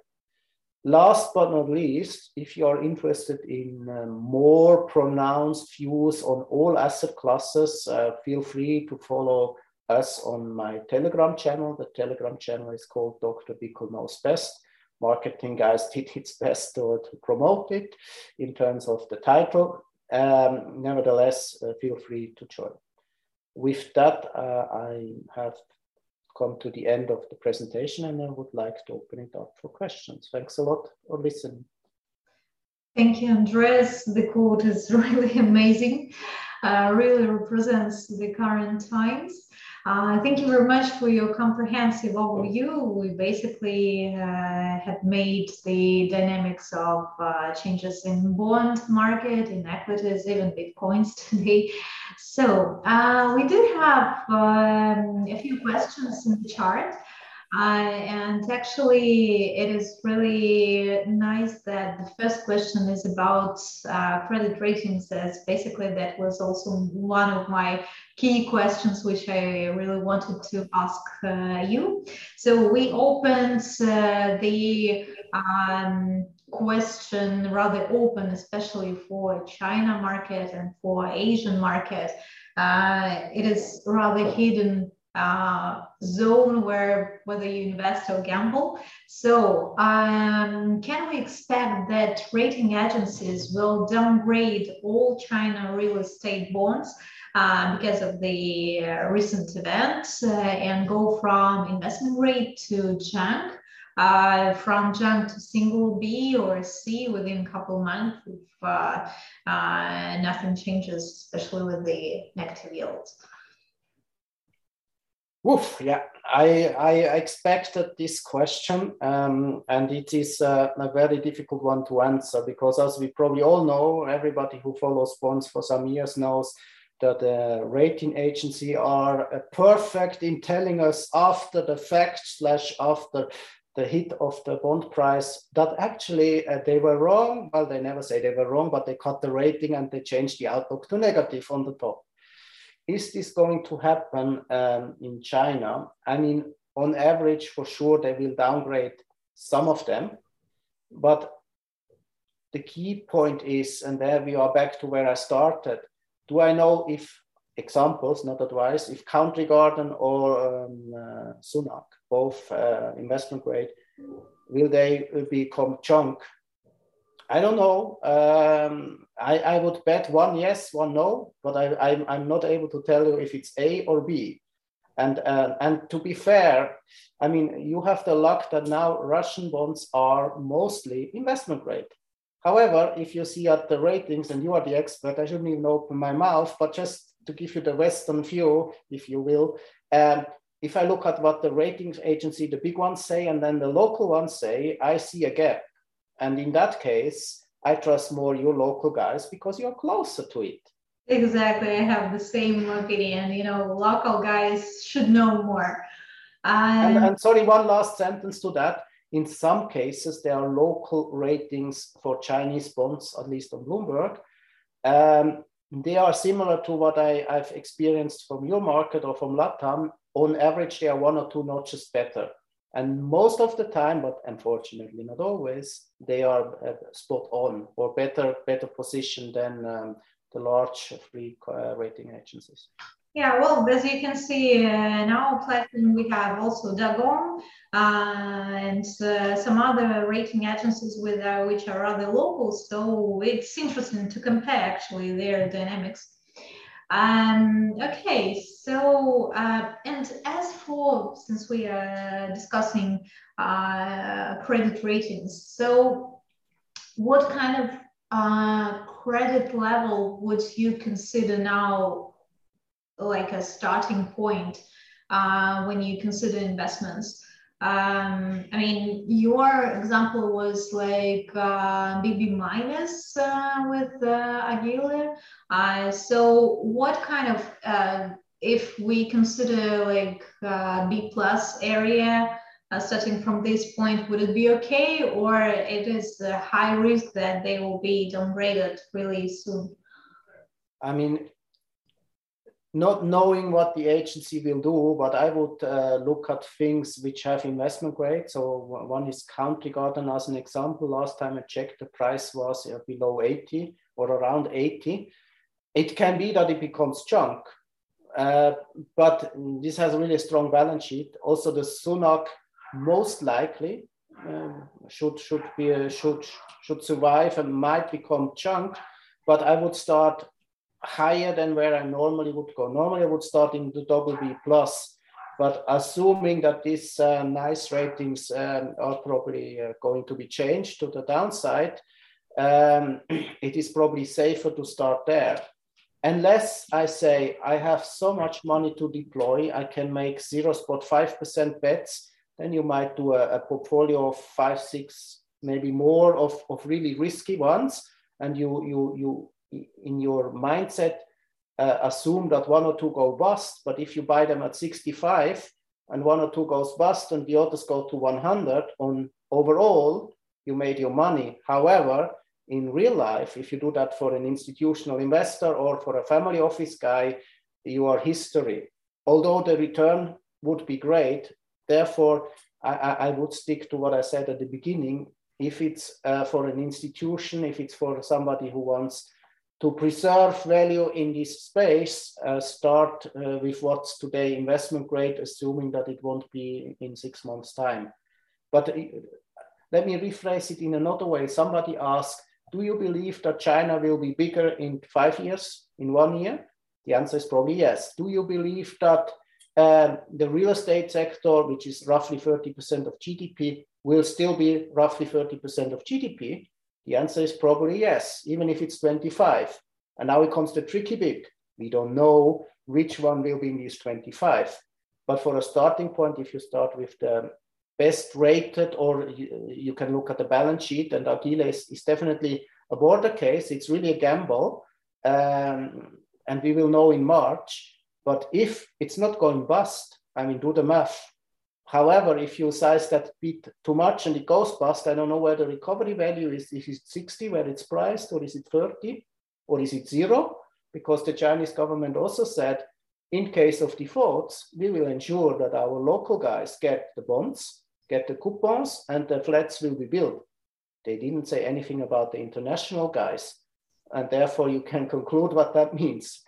Last but not least, if you are interested in uh, more pronounced views on all asset classes, uh, feel free to follow us on my Telegram channel. The Telegram channel is called Doctor Bickel Knows Best. Marketing guys did its best to, to promote it in terms of the title. Um, nevertheless, uh, feel free to join. With that, uh, I have come to the end of the presentation and I would like to open it up for questions. Thanks a lot for listening. Thank you, Andreas. The quote is really amazing, uh, really represents the current times. Uh, thank you very much for your comprehensive overview. We basically uh, have made the dynamics of uh, changes in bond market, in equities, even Bitcoins today. So uh, we do have um, a few questions in the chart. Uh, and actually, it is really nice that the first question is about uh, credit ratings, as basically that was also one of my key questions, which I really wanted to ask uh, you. So we opened uh, the um, question rather open, especially for China market and for Asian market. Uh, it is rather hidden Uh, zone where whether you invest or gamble. So um, can we expect that rating agencies will downgrade all China real estate bonds uh, because of the uh, recent events uh, and go from investment grade to junk, uh, from junk to single B or C within a couple of months if uh, uh, nothing changes, especially with the negative yields? Oof, yeah, I, I expected this question, um, and it is uh, a very difficult one to answer because, as we probably all know, everybody who follows bonds for some years knows that the rating agency are uh, perfect in telling us after the fact slash after the hit of the bond price that actually uh, they were wrong. Well, they never say they were wrong, but they cut the rating and they changed the outlook to negative on the top. Is this going to happen um, in China? I mean, on average, for sure, they will downgrade some of them. But the key point is, and there we are back to where I started, do I know if, examples, not advice, if Country Garden or um, uh, Sunac, both uh, investment grade, will they become junk? I don't know. Um, I, I would bet one yes, one no, but I, I'm, I'm not able to tell you if it's A or B. And, uh, and to be fair, I mean, you have the luck that now Russian bonds are mostly investment grade. However, if you see at the ratings, and you are the expert, I shouldn't even open my mouth, but just to give you the Western view, if you will, um, if I look at what the ratings agency, the big ones say, and then the local ones say, I see a gap. And in that case, I trust more your local guys because you're closer to it. Exactly. I have the same opinion. You know, local guys should know more. Um, and, and sorry, one last sentence to that. In some cases, there are local ratings for Chinese bonds, at least on Bloomberg. Um, they are similar to what I, I've experienced from your market or from LATAM. On average, they are one or two notches better. And most of the time, but unfortunately not always, they are uh, spot on or better, better positioned than um, the large free uh, rating agencies. Yeah, well, as you can see uh, in our platform, we have also Dagong uh, and uh, some other rating agencies with uh, which are rather local. So it's interesting to compare actually their dynamics. Um, okay, so, uh, and as for, since we are discussing uh, credit ratings, so what kind of uh, credit level would you consider now like a starting point uh, when you consider investments? Um, I mean, your example was like uh, B B minus uh, with uh, Agile. Uh, so what kind of, uh, if we consider like uh, B plus area, uh, starting from this point, would it be okay, or it is a high risk that they will be downgraded really soon? I mean, not knowing what the agency will do, but I would uh, look at things which have investment grade. So one is Country Garden as an example. Last time I checked, the price was uh, below eighty or around eighty. It can be that it becomes junk, uh, but this has really a strong balance sheet. Also, the Sunac most likely uh, should should be a, should should survive and might become junk, but I would start higher than where I normally would go. Normally I would start in the double B plus, but assuming that these uh, nice ratings um, are probably uh, going to be changed to the downside, um, it is probably safer to start there. Unless I say I have so much money to deploy, I can make zero point five percent bets, then you might do a, a portfolio of five, six, maybe more of, of really risky ones, and you you you in your mindset, uh, assume that one or two go bust. But if you buy them at sixty-five and one or two goes bust and the others go to one hundred, on overall, you made your money. However, in real life, if you do that for an institutional investor or for a family office guy, you are history. Although the return would be great, therefore, I, I would stick to what I said at the beginning. If it's uh, for an institution, if it's for somebody who wants to preserve value in this space, uh, start uh, with what's today investment grade, assuming that it won't be in six months' time. But uh, let me rephrase it in another way. Somebody asked, do you believe that China will be bigger in five years, in one year? The answer is probably yes. Do you believe that uh, the real estate sector, which is roughly thirty percent of G D P, will still be roughly thirty percent of G D P? The answer is probably yes, even if it's twenty-five. And now it comes the tricky bit. We don't know which one will be in these twenty-five. But for a starting point, if you start with the best rated, or you, you can look at the balance sheet, and Agile is, is definitely a border case. It's really a gamble. Um, and we will know in March. But if it's not going bust, I mean, do the math. However, if you size that bit too much and it goes bust, I don't know where the recovery value is. Is it sixty where it's priced, or is it thirty, or is it zero? Because the Chinese government also said, in case of defaults, we will ensure that our local guys get the bonds, get the coupons, and the flats will be built. They didn't say anything about the international guys. And therefore, you can conclude what that means.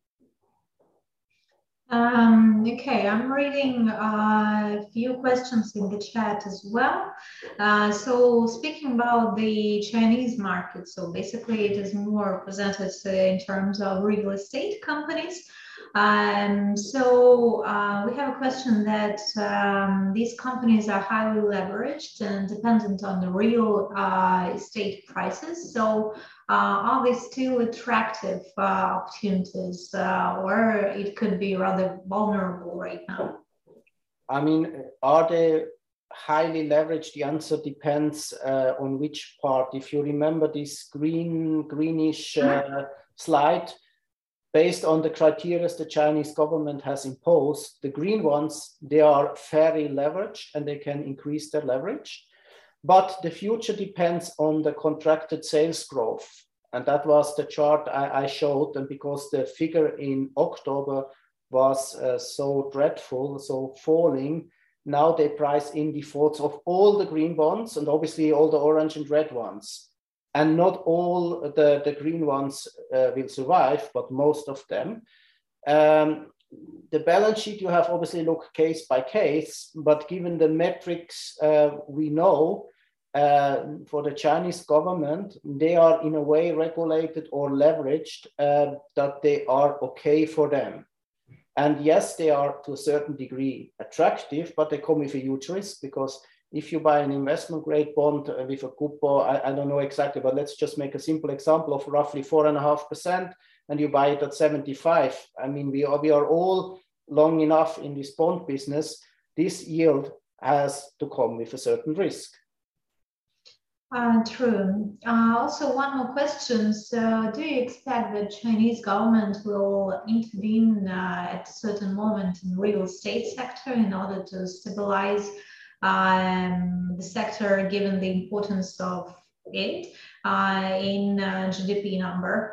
Um, okay, I'm reading uh, a few questions in the chat as well. Uh, so speaking about the Chinese market, so basically it is more presented uh, in terms of real estate companies. Um, so uh, we have a question that um, these companies are highly leveraged and dependent on the real uh, estate prices. So uh, are they still attractive uh, opportunities, uh, or it could be rather vulnerable right now? I mean, are they highly leveraged? The answer depends uh, on which part. If you remember this green, greenish uh, slide, based on the criteria the Chinese government has imposed, the green ones, they are very leveraged and they can increase their leverage. But the future depends on the contracted sales growth. And that was the chart I, I showed. And because the figure in October was uh, so dreadful, so falling, now they price in defaults of all the green bonds and obviously all the orange and red ones. And not all the, the green ones uh, will survive, but most of them. Um, the balance sheet, you have obviously look case by case, but given the metrics uh, we know uh, for the Chinese government, they are in a way regulated or leveraged uh, that they are okay for them. And yes, they are to a certain degree attractive, but they come with a huge risk, because if you buy an investment grade bond with a coupon, I, I don't know exactly, but let's just make a simple example of roughly four and a half percent, and you buy it at seventy-five. I mean, we are, we are all long enough in this bond business. This yield has to come with a certain risk. Uh, true. Uh, also, one more question. So, do you expect the Chinese government will intervene uh, at a certain moment in real estate sector in order to stabilize um, the sector, given the importance of it uh, in uh, G D P number?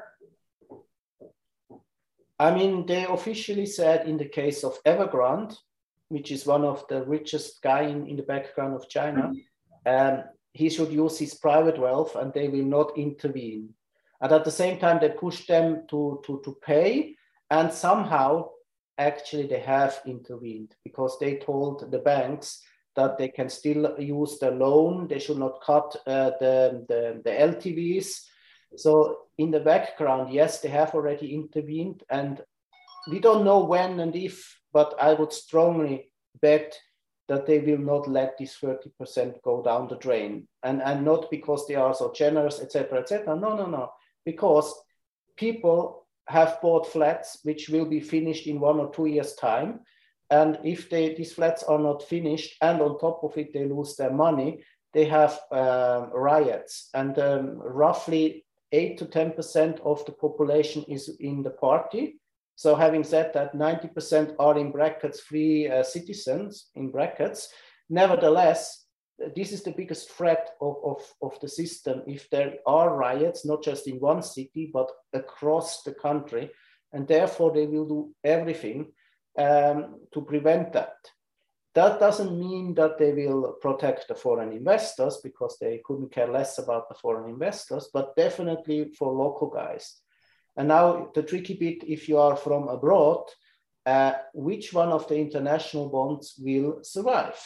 I mean, they officially said in the case of Evergrande, which is one of the richest guy in, in the background of China, um, he should use his private wealth and they will not intervene. And at the same time, they push them to, to, to pay. And somehow, actually, they have intervened because they told the banks that they can still use the loan. They should not cut uh, the, the, the L T Vs. So in the background, yes, they have already intervened. And we don't know when and if, but I would strongly bet that they will not let this thirty percent go down the drain. And, and not because they are so generous, et cetera, et cetera. No, no, no. Because people have bought flats which will be finished in one or two years' time. And if they, these flats are not finished and on top of it, they lose their money, they have uh, riots. And um, roughly eight to ten percent of the population is in the party. So having said that, ninety percent are in brackets free uh, citizens, in brackets. Nevertheless, this is the biggest threat of, of, of the system. If there are riots, not just in one city, but across the country, and therefore they will do everything um, to prevent that. That doesn't mean that they will protect the foreign investors because they couldn't care less about the foreign investors, but definitely for local guys. And now the tricky bit, if you are from abroad, uh, which one of the international bonds will survive?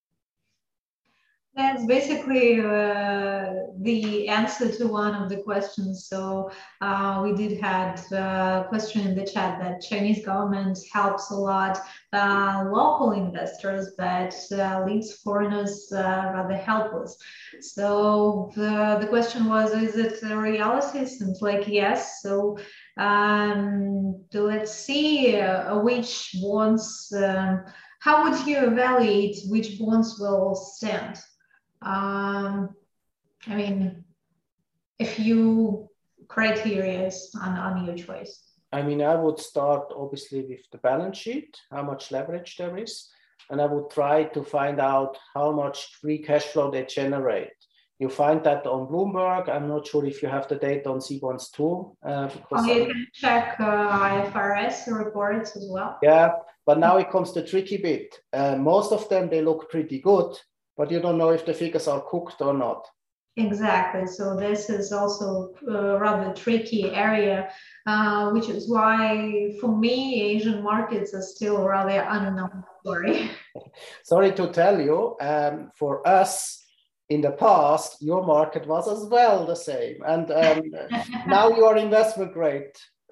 That's basically uh, the answer to one of the questions. So uh, we did had a question in the chat that Chinese government helps a lot uh, local investors, but uh, leaves foreigners uh, rather helpless. So the, the question was, is it a reality? Seems like yes. So um, let's see uh, which bonds, um, how would you evaluate which bonds will stand? Um, I mean, a few criteria on, on your choice. I mean, I would start obviously with the balance sheet, how much leverage there is, and I would try to find out how much free cash flow they generate. You find that on Bloomberg. I'm not sure if you have the data on C bonds too. Uh, because oh, you can check uh, I F R S reports as well. Yeah, but now it comes the tricky bit. Uh, most of them, they look pretty good, but you don't know if the figures are cooked or not. Exactly. So this is also a rather tricky area, uh, which is why, for me, Asian markets are still rather unknown story. Sorry to tell you, um, for us in the past, your market was as well the same. And um, now you are investment grade.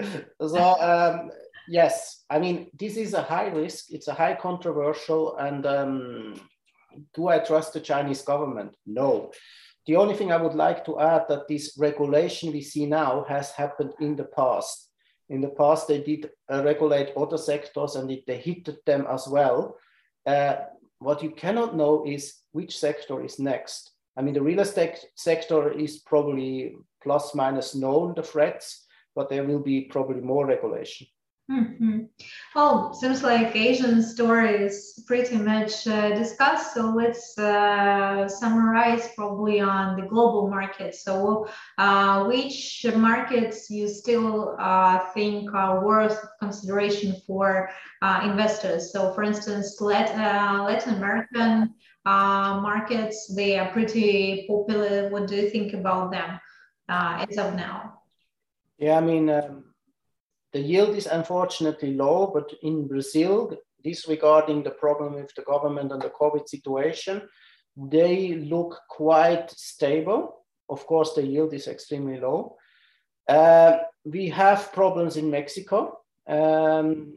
So um, yes, I mean, this is a high risk. It's a high controversial and um, do I trust the Chinese government? No. The only thing I would like to add that this regulation we see now has happened in the past. In the past, they did uh, regulate other sectors and it, they hit them as well. Uh, what you cannot know is which sector is next. I mean, the real estate sector is probably plus minus known, the threats, but there will be probably more regulation. Mm-hmm. Well, seems like Asian story is pretty much uh, discussed. So let's uh, summarize probably on the global market. So uh, which markets you still uh, think are worth consideration for uh, investors? So for instance, Latin, uh, Latin American uh, markets, they are pretty popular. What do you think about them uh, as of now? Yeah, I mean, um... the yield is unfortunately low, but in Brazil, disregarding the problem with the government and the COVID situation, they look quite stable. Of course, the yield is extremely low. Uh, we have problems in Mexico. Um,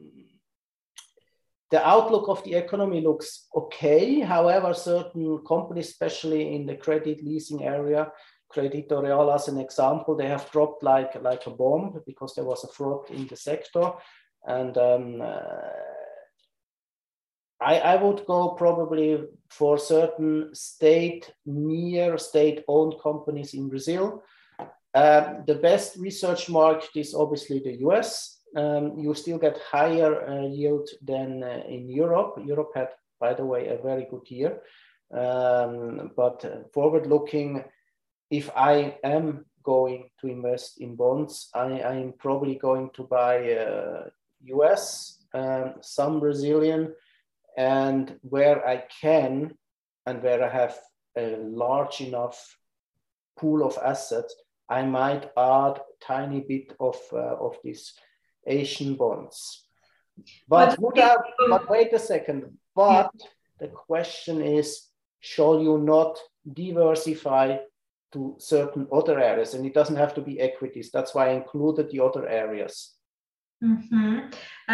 the outlook of the economy looks okay. However, certain companies, especially in the credit leasing area, Crédito Real as an example, they have dropped like, like a bomb because there was a fraud in the sector. And um, uh, I, I would go probably for certain state, near state-owned companies in Brazil. Uh, the best research market is obviously the U S. Um, you still get higher uh, yield than uh, in Europe. Europe had, by the way, a very good year. Um, but uh, forward-looking, if I am going to invest in bonds, I am probably going to buy uh, U S, um, some Brazilian, and where I can, and where I have a large enough pool of assets, I might add a tiny bit of, uh, of these Asian bonds. But, would I, but wait a second, but yeah. The question is, shall you not diversify to certain other areas? And it doesn't have to be equities. That's why I included the other areas. Mm-hmm.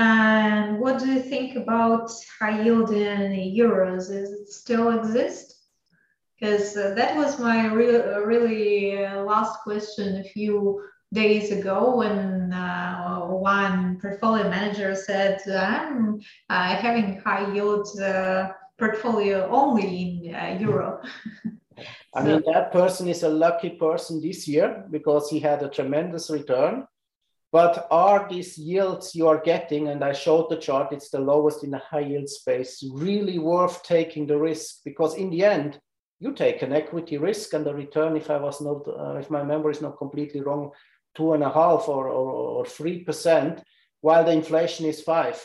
And what do you think about high yield in euros? Does it still exist? Because uh, that was my re- really uh, last question a few days ago when uh, one portfolio manager said, I'm uh, having high yield uh, portfolio only in uh, euro. I mean, that person is a lucky person this year because he had a tremendous return. But are these yields you are getting, and I showed the chart, it's the lowest in the high yield space, really worth taking the risk? Because in the end, you take an equity risk and the return, if I was not, uh, if my memory is not completely wrong, two and a half or, or, or three percent, while the inflation is five.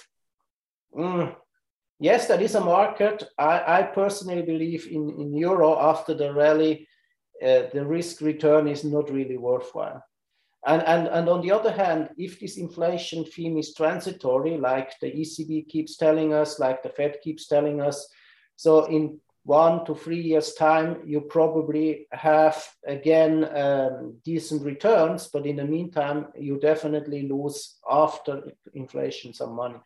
Mm. Yes, that is a market. I, I personally believe in, in euro after the rally, uh, the risk return is not really worthwhile. And, and, and on the other hand, if this inflation theme is transitory, like the E C B keeps telling us, like the Fed keeps telling us, so in one to three years' time, you probably have, again, um, decent returns, but in the meantime, you definitely lose after inflation some money.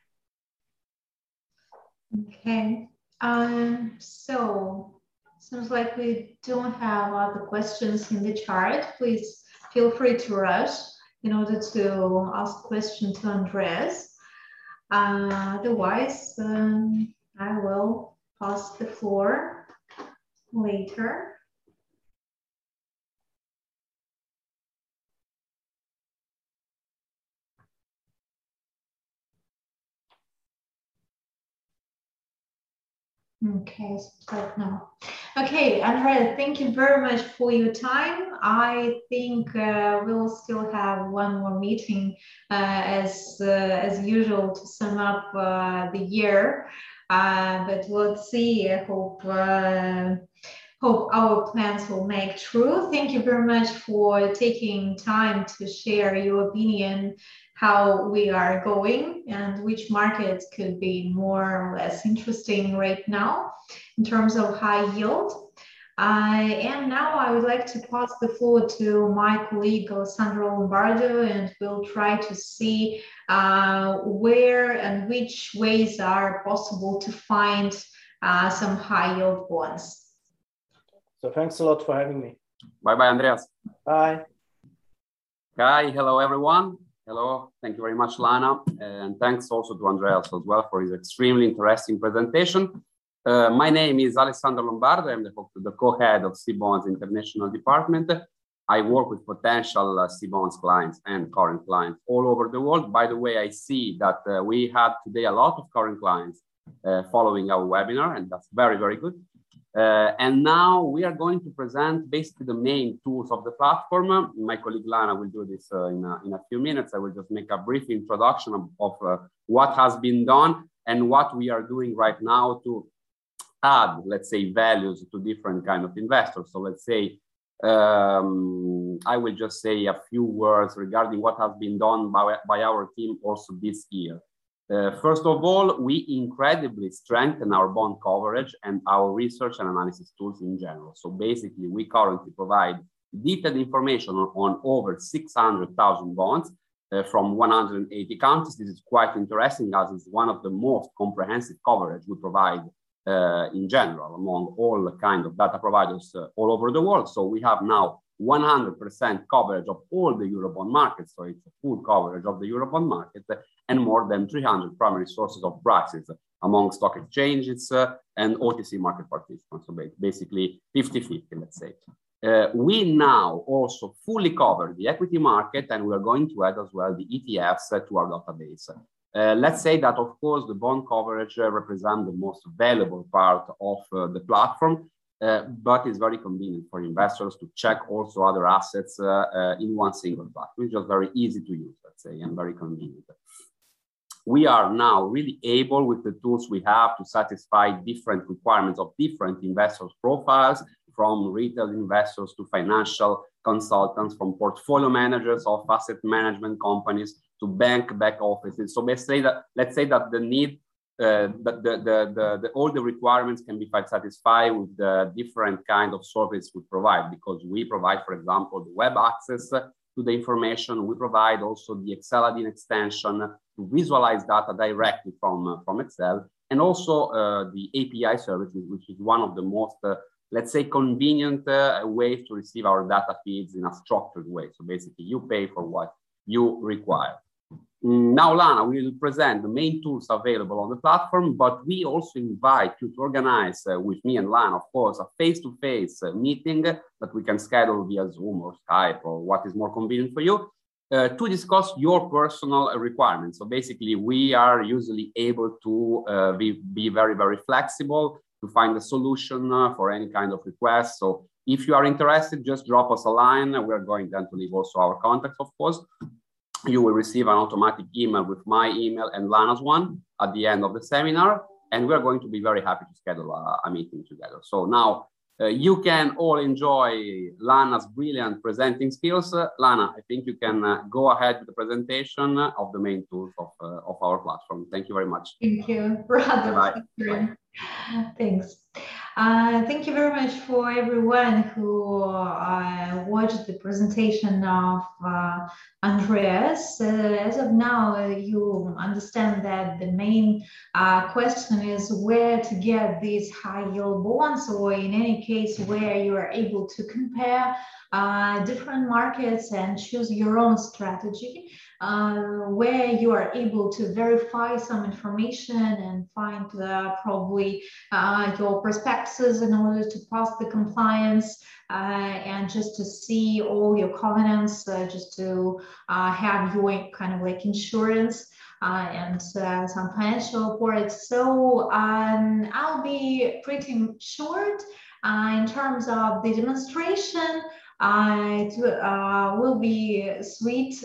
Okay, um, so seems like we don't have other questions in the chart. Please feel free to rush in order to ask question to Andreas. Uh, otherwise, um, I will pass the floor later. Okay, so no. Okay, Andrea, thank you very much for your time. I think uh, we'll still have one more meeting uh, as uh, as usual to sum up uh, the year, uh, but let's see. I hope uh, hope our plans will make true. Thank you very much for taking time to share your opinion, how we are going and which markets could be more or less interesting right now in terms of high yield. Uh, and now I would like to pass the floor to my colleague Alessandro Lombardo, and we'll try to see uh, where and which ways are possible to find uh, some high yield bonds. So thanks a lot for having me. Bye-bye, Andreas. Bye. Hi, hello, everyone. Hello, thank you very much, Lana. And thanks also to Andreas as well for his extremely interesting presentation. Uh, my name is Alessandro Lombardo. I'm the, the co-head of C-Bonds International Department. I work with potential uh, C-Bonds clients and current clients all over the world. By the way, I see that uh, we have today a lot of current clients uh, following our webinar, and that's very, very good. Uh, and now we are going to present basically the main tools of the platform. My colleague Lana will do this uh, in, a, in a few minutes. I will just make a brief introduction of, of uh, what has been done and what we are doing right now to add, let's say, values to different kind of investors. So let's say, um, I will just say a few words regarding what has been done by, by our team also this year. Uh, first of all, we incredibly strengthen our bond coverage and our research and analysis tools in general. So basically, we currently provide detailed information on, on over six hundred thousand bonds uh, from one hundred eighty countries. This is quite interesting as it's one of the most comprehensive coverage we provide uh, in general among all kind of data providers uh, all over the world. So we have now one hundred percent coverage of all the Eurobond markets. So it's a full coverage of the Eurobond market and more than three hundred primary sources of prices among stock exchanges uh, and O T C market participants. So basically fifty fifty, let's say. Uh, we now also fully cover the equity market, and we are going to add as well the E T Fs uh, to our database. Uh, let's say that, of course, the bond coverage uh, represents the most valuable part of uh, the platform, uh, but it's very convenient for investors to check also other assets uh, uh, in one single platform. It's just very easy to use, let's say, and very convenient. We are now really able, with the tools we have, to satisfy different requirements of different investors' profiles, from retail investors to financial consultants, from portfolio managers of asset management companies to bank back offices. So let's say that, let's say that the need, uh, that the, the, the, the, all the requirements can be satisfied with the different kind of service we provide, because we provide, for example, the web access to the information. We provide also the Excel add-in extension to visualize data directly from, uh, from Excel, and also uh, the A P I services, which is one of the most, uh, let's say, convenient uh, ways to receive our data feeds in a structured way. So basically, you pay for what you require. Now, Lana will present the main tools available on the platform, but we also invite you to organize uh, with me and Lana, of course, a face-to-face uh, meeting that we can schedule via Zoom or Skype or what is more convenient for you uh, to discuss your personal requirements. So basically, we are usually able to uh, be, be very, very flexible to find a solution uh, for any kind of request. So if you are interested, just drop us a line. We're going then to leave also our contacts, of course. You will receive an automatic email with my email and Lana's one at the end of the seminar. And we're going to be very happy to schedule a, a meeting together. So now uh, you can all enjoy Lana's brilliant presenting skills. Uh, Lana, I think you can uh, go ahead with the presentation of the main tools of, uh, of our platform. Thank you very much. Thank you, brother. Bye. Bye. Thanks. Uh, thank you very much for everyone who uh, watched the presentation of uh, Andreas. Uh, as of now, uh, you understand that the main uh, question is where to get these high yield bonds, or in any case, where you are able to compare uh, different markets and choose your own strategy. Uh, where you are able to verify some information and find uh, probably uh, your prospectuses in order to pass the compliance uh, and just to see all your covenants, uh, just to uh, have your kind of like insurance uh, and uh, some financial reports. So um, I'll be pretty short uh, in terms of the demonstration. Uh, it uh, will be sweet.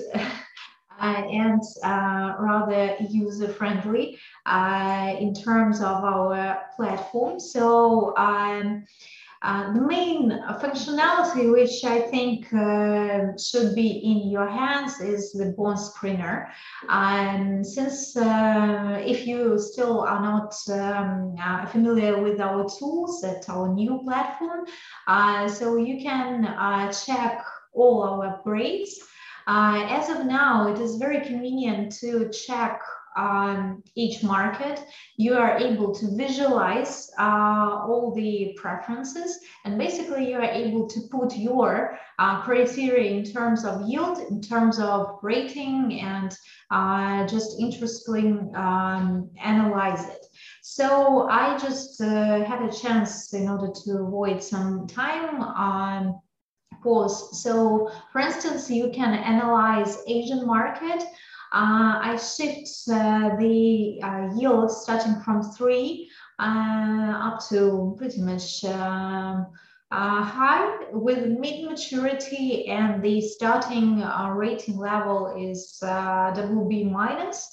Uh, and uh, rather user-friendly uh, in terms of our platform. So um, uh, the main functionality, which I think uh, should be in your hands, is the bond screener. And since uh, if you still are not um, uh, familiar with our tools at our new platform, uh, so you can uh, check all our upgrades. Uh, as of now, it is very convenient to check um, each market. You are able to visualize uh, all the preferences, and basically you are able to put your uh, criteria in terms of yield, in terms of rating, and uh, just interestingly um, analyze it. So I just uh, had a chance, in order to avoid some time, um, pause. So for instance, you can analyze Asian market. Uh, I shift uh, the uh, yield starting from three uh, up to pretty much um, uh, high with mid maturity, and the starting uh, rating level is uh, double B minus.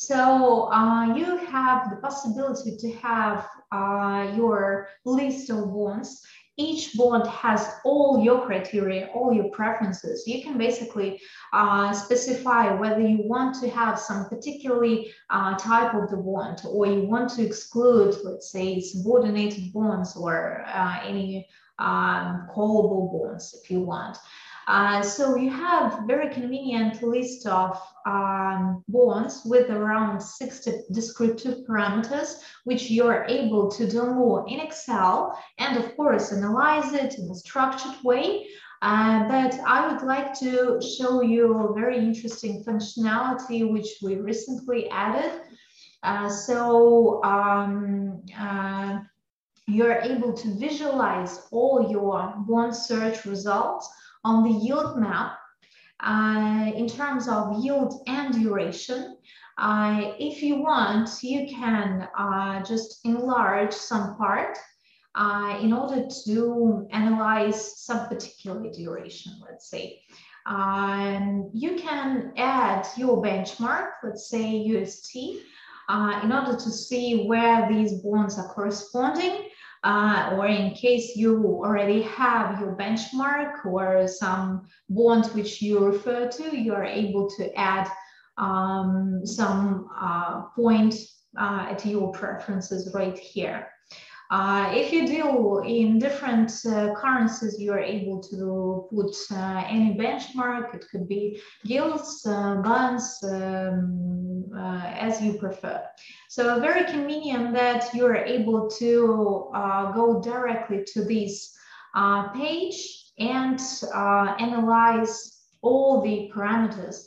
So uh, you have the possibility to have uh, your list of bonds. Each bond has all your criteria, all your preferences. You can basically uh, specify whether you want to have some particularly uh, type of the bond, or you want to exclude, let's say, subordinated bonds or uh, any um, callable bonds if you want. Uh, so you have very convenient list of um, bonds with around sixty descriptive parameters, which you're able to download in Excel and of course analyze it in a structured way. Uh, but I would like to show you a very interesting functionality which we recently added. Uh, so um, uh, you're able to visualize all your bond search results on the yield map uh, in terms of yield and duration. Uh, if you want, you can uh, just enlarge some part uh, in order to analyze some particular duration, let's say. Um, you can add your benchmark, let's say U S T, uh, in order to see where these bonds are corresponding. Uh, or in case you already have your benchmark or some bond which you refer to, you are able to add um, some uh, point uh, at your preferences right here. Uh, if you deal in different uh, currencies, you are able to put uh, any benchmark. It could be yields, uh, bonds, um, uh, as you prefer. So very convenient that you are able to uh, go directly to this uh, page and uh, analyze all the parameters.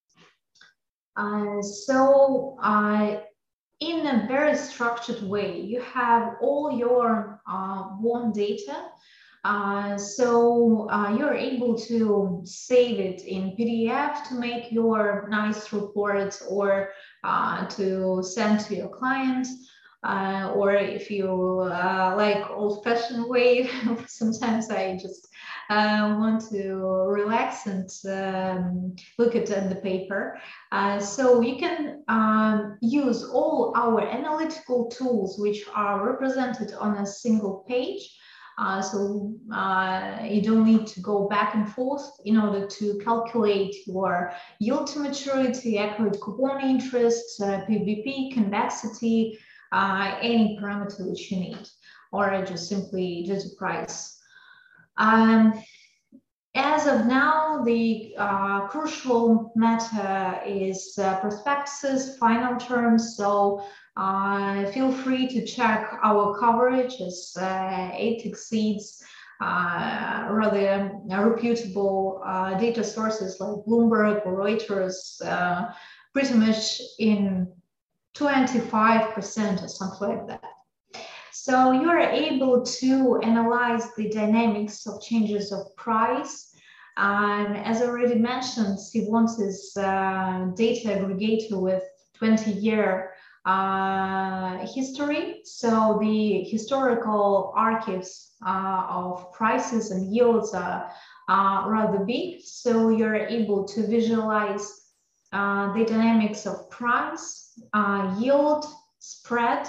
Uh, so uh, in a very structured way, you have all your uh, bond data. Uh, so uh, you're able to save it in P D F to make your nice reports, or uh, to send to your client. Uh, or if you uh, like old-fashioned way, sometimes I just uh, want to relax and um, look at, at the paper. Uh, so you can um, use all our analytical tools, which are represented on a single page. Uh, so uh, you don't need to go back and forth in order to calculate your yield to maturity, accurate coupon interest, uh, P V P, convexity, uh, any parameter which you need, or just simply just a price. Um, as of now, the uh, crucial matter is uh, prospectuses, final terms. So uh, feel free to check our coverage, as uh, it exceeds uh, rather reputable uh, data sources like Bloomberg or Reuters, uh, pretty much in twenty-five percent or something like that. So you are able to analyze the dynamics of changes of price. Um, as I already mentioned, Sibon's is uh, data aggregator with twenty year uh, history. So the historical archives uh, of prices and yields are uh, rather big. So you're able to visualize uh, the dynamics of price, uh, yield, spread.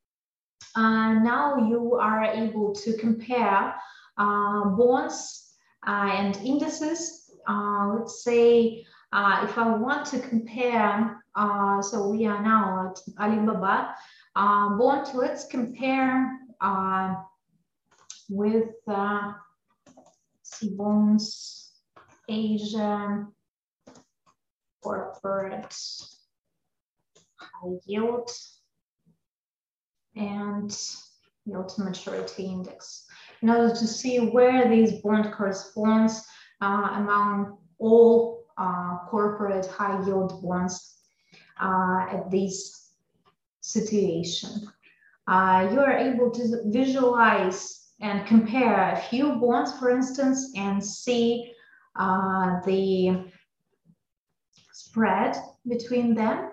Uh, now you are able to compare uh, bonds uh, and indices. Uh, let's say uh, if I want to compare, uh, so we are now at Alibaba uh, bond, let's compare uh, with uh, Sibon's Asia corporate high yield and yield to maturity index, in order to see where this bond corresponds uh, among all uh, corporate high yield bonds uh, at this situation. Uh, you are able to visualize and compare a few bonds, for instance, and see uh, the spread between them.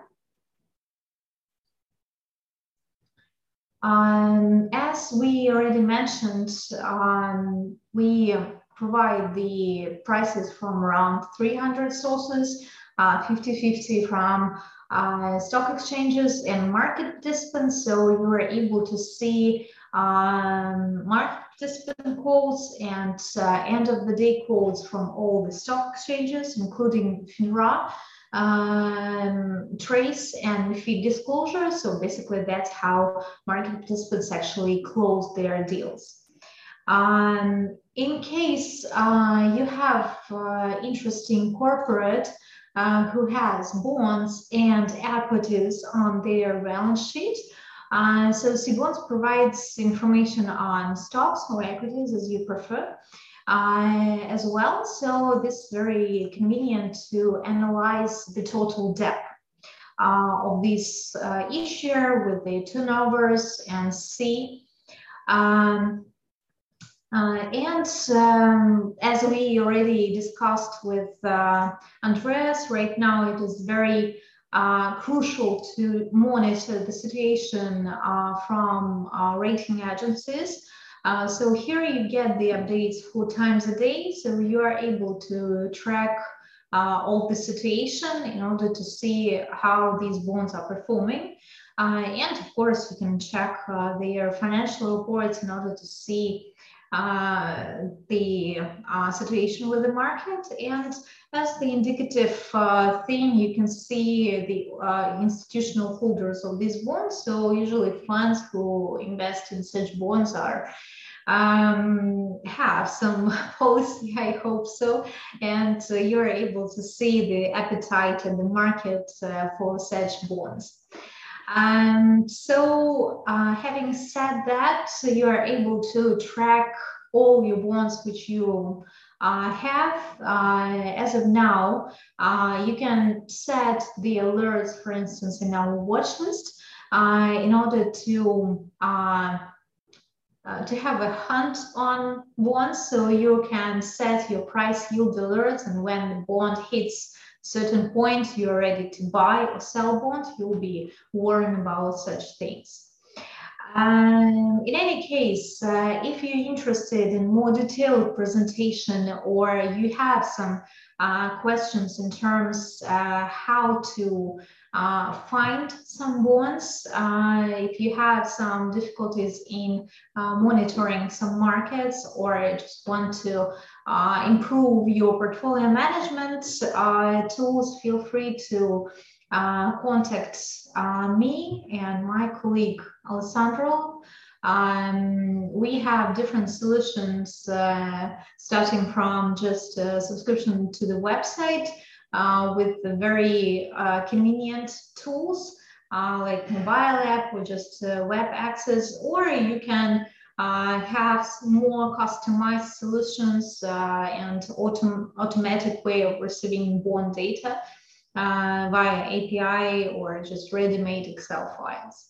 Um, as we already mentioned, um, we provide the prices from around three hundred sources, fifty fifty uh, from uh, stock exchanges and market participants. So you are able to see um, market participant quotes and uh, end of the day quotes from all the stock exchanges, including FINRA, um, Trace, and fee disclosure. So basically that's how market participants actually close their deals. Um, in case uh, you have uh, interesting corporate uh, who has bonds and equities on their balance sheet, uh, so Sibon's provides information on stocks or equities as you prefer. Uh, as well, so this is very convenient to analyze the total debt. uh, of this uh, issue with the turnovers and see. Um, uh, and um, as we already discussed with uh, Andreas, right now it is very uh, crucial to monitor the situation uh, from uh, rating agencies. Uh, so here you get the updates four times a day, so you are able to track uh, all the situation in order to see how these bonds are performing. Uh, and of course, you can check uh, their financial reports in order to see uh, the uh, situation with the market. And as the indicative uh, thing, you can see the uh, institutional holders of these bonds. So usually funds who invest in such bonds are um, have some policy, I hope so, and uh, you're able to see the appetite in the market uh, for such bonds. Um, so uh, having said that, so you are able to track all your bonds which you uh, have. Uh, as of now, uh, you can set the alerts, for instance, in our watch list uh, in order to uh, uh, to have a hunt on bonds. So you can set your price yield alerts, and when the bond hits certain point you're ready to buy or sell bond, you'll be warned about such things. Um, in any case, uh, if you're interested in more detailed presentation or you have some uh, questions in terms uh, how to uh, find some bonds, uh, if you have some difficulties in uh, monitoring some markets or just want to uh, improve your portfolio management uh, tools, feel free to uh, contact uh, me and my colleague Alessandro. Um, we have different solutions uh, starting from just a subscription to the website uh, with the very uh, convenient tools uh, like mobile app or just uh, web access, or you can uh, have more customized solutions uh, and autom automatic way of receiving bond data uh, via A P I or just ready-made Excel files.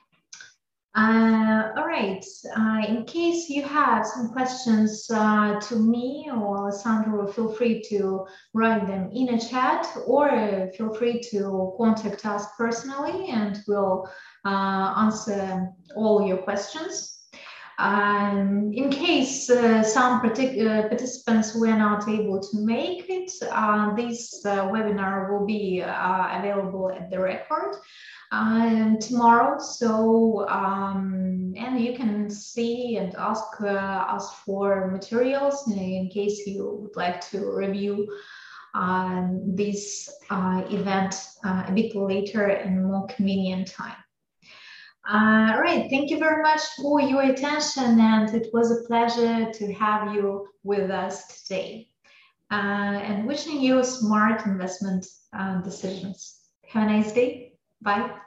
Uh, all right, uh, in case you have some questions uh, to me or Alessandro, feel free to write them in a chat or feel free to contact us personally and we'll uh, answer all your questions. Um, in case uh, some particular participants were not able to make it, uh, this uh, webinar will be uh, available at the record um, tomorrow. So, um, and you can see and ask uh, us for materials in case you would like to review um, this uh, event uh, a bit later in a more convenient time. Uh, all right, thank you very much for your attention, and it was a pleasure to have you with us today. Uh, and wishing you smart investment uh, decisions. Have a nice day. Bye.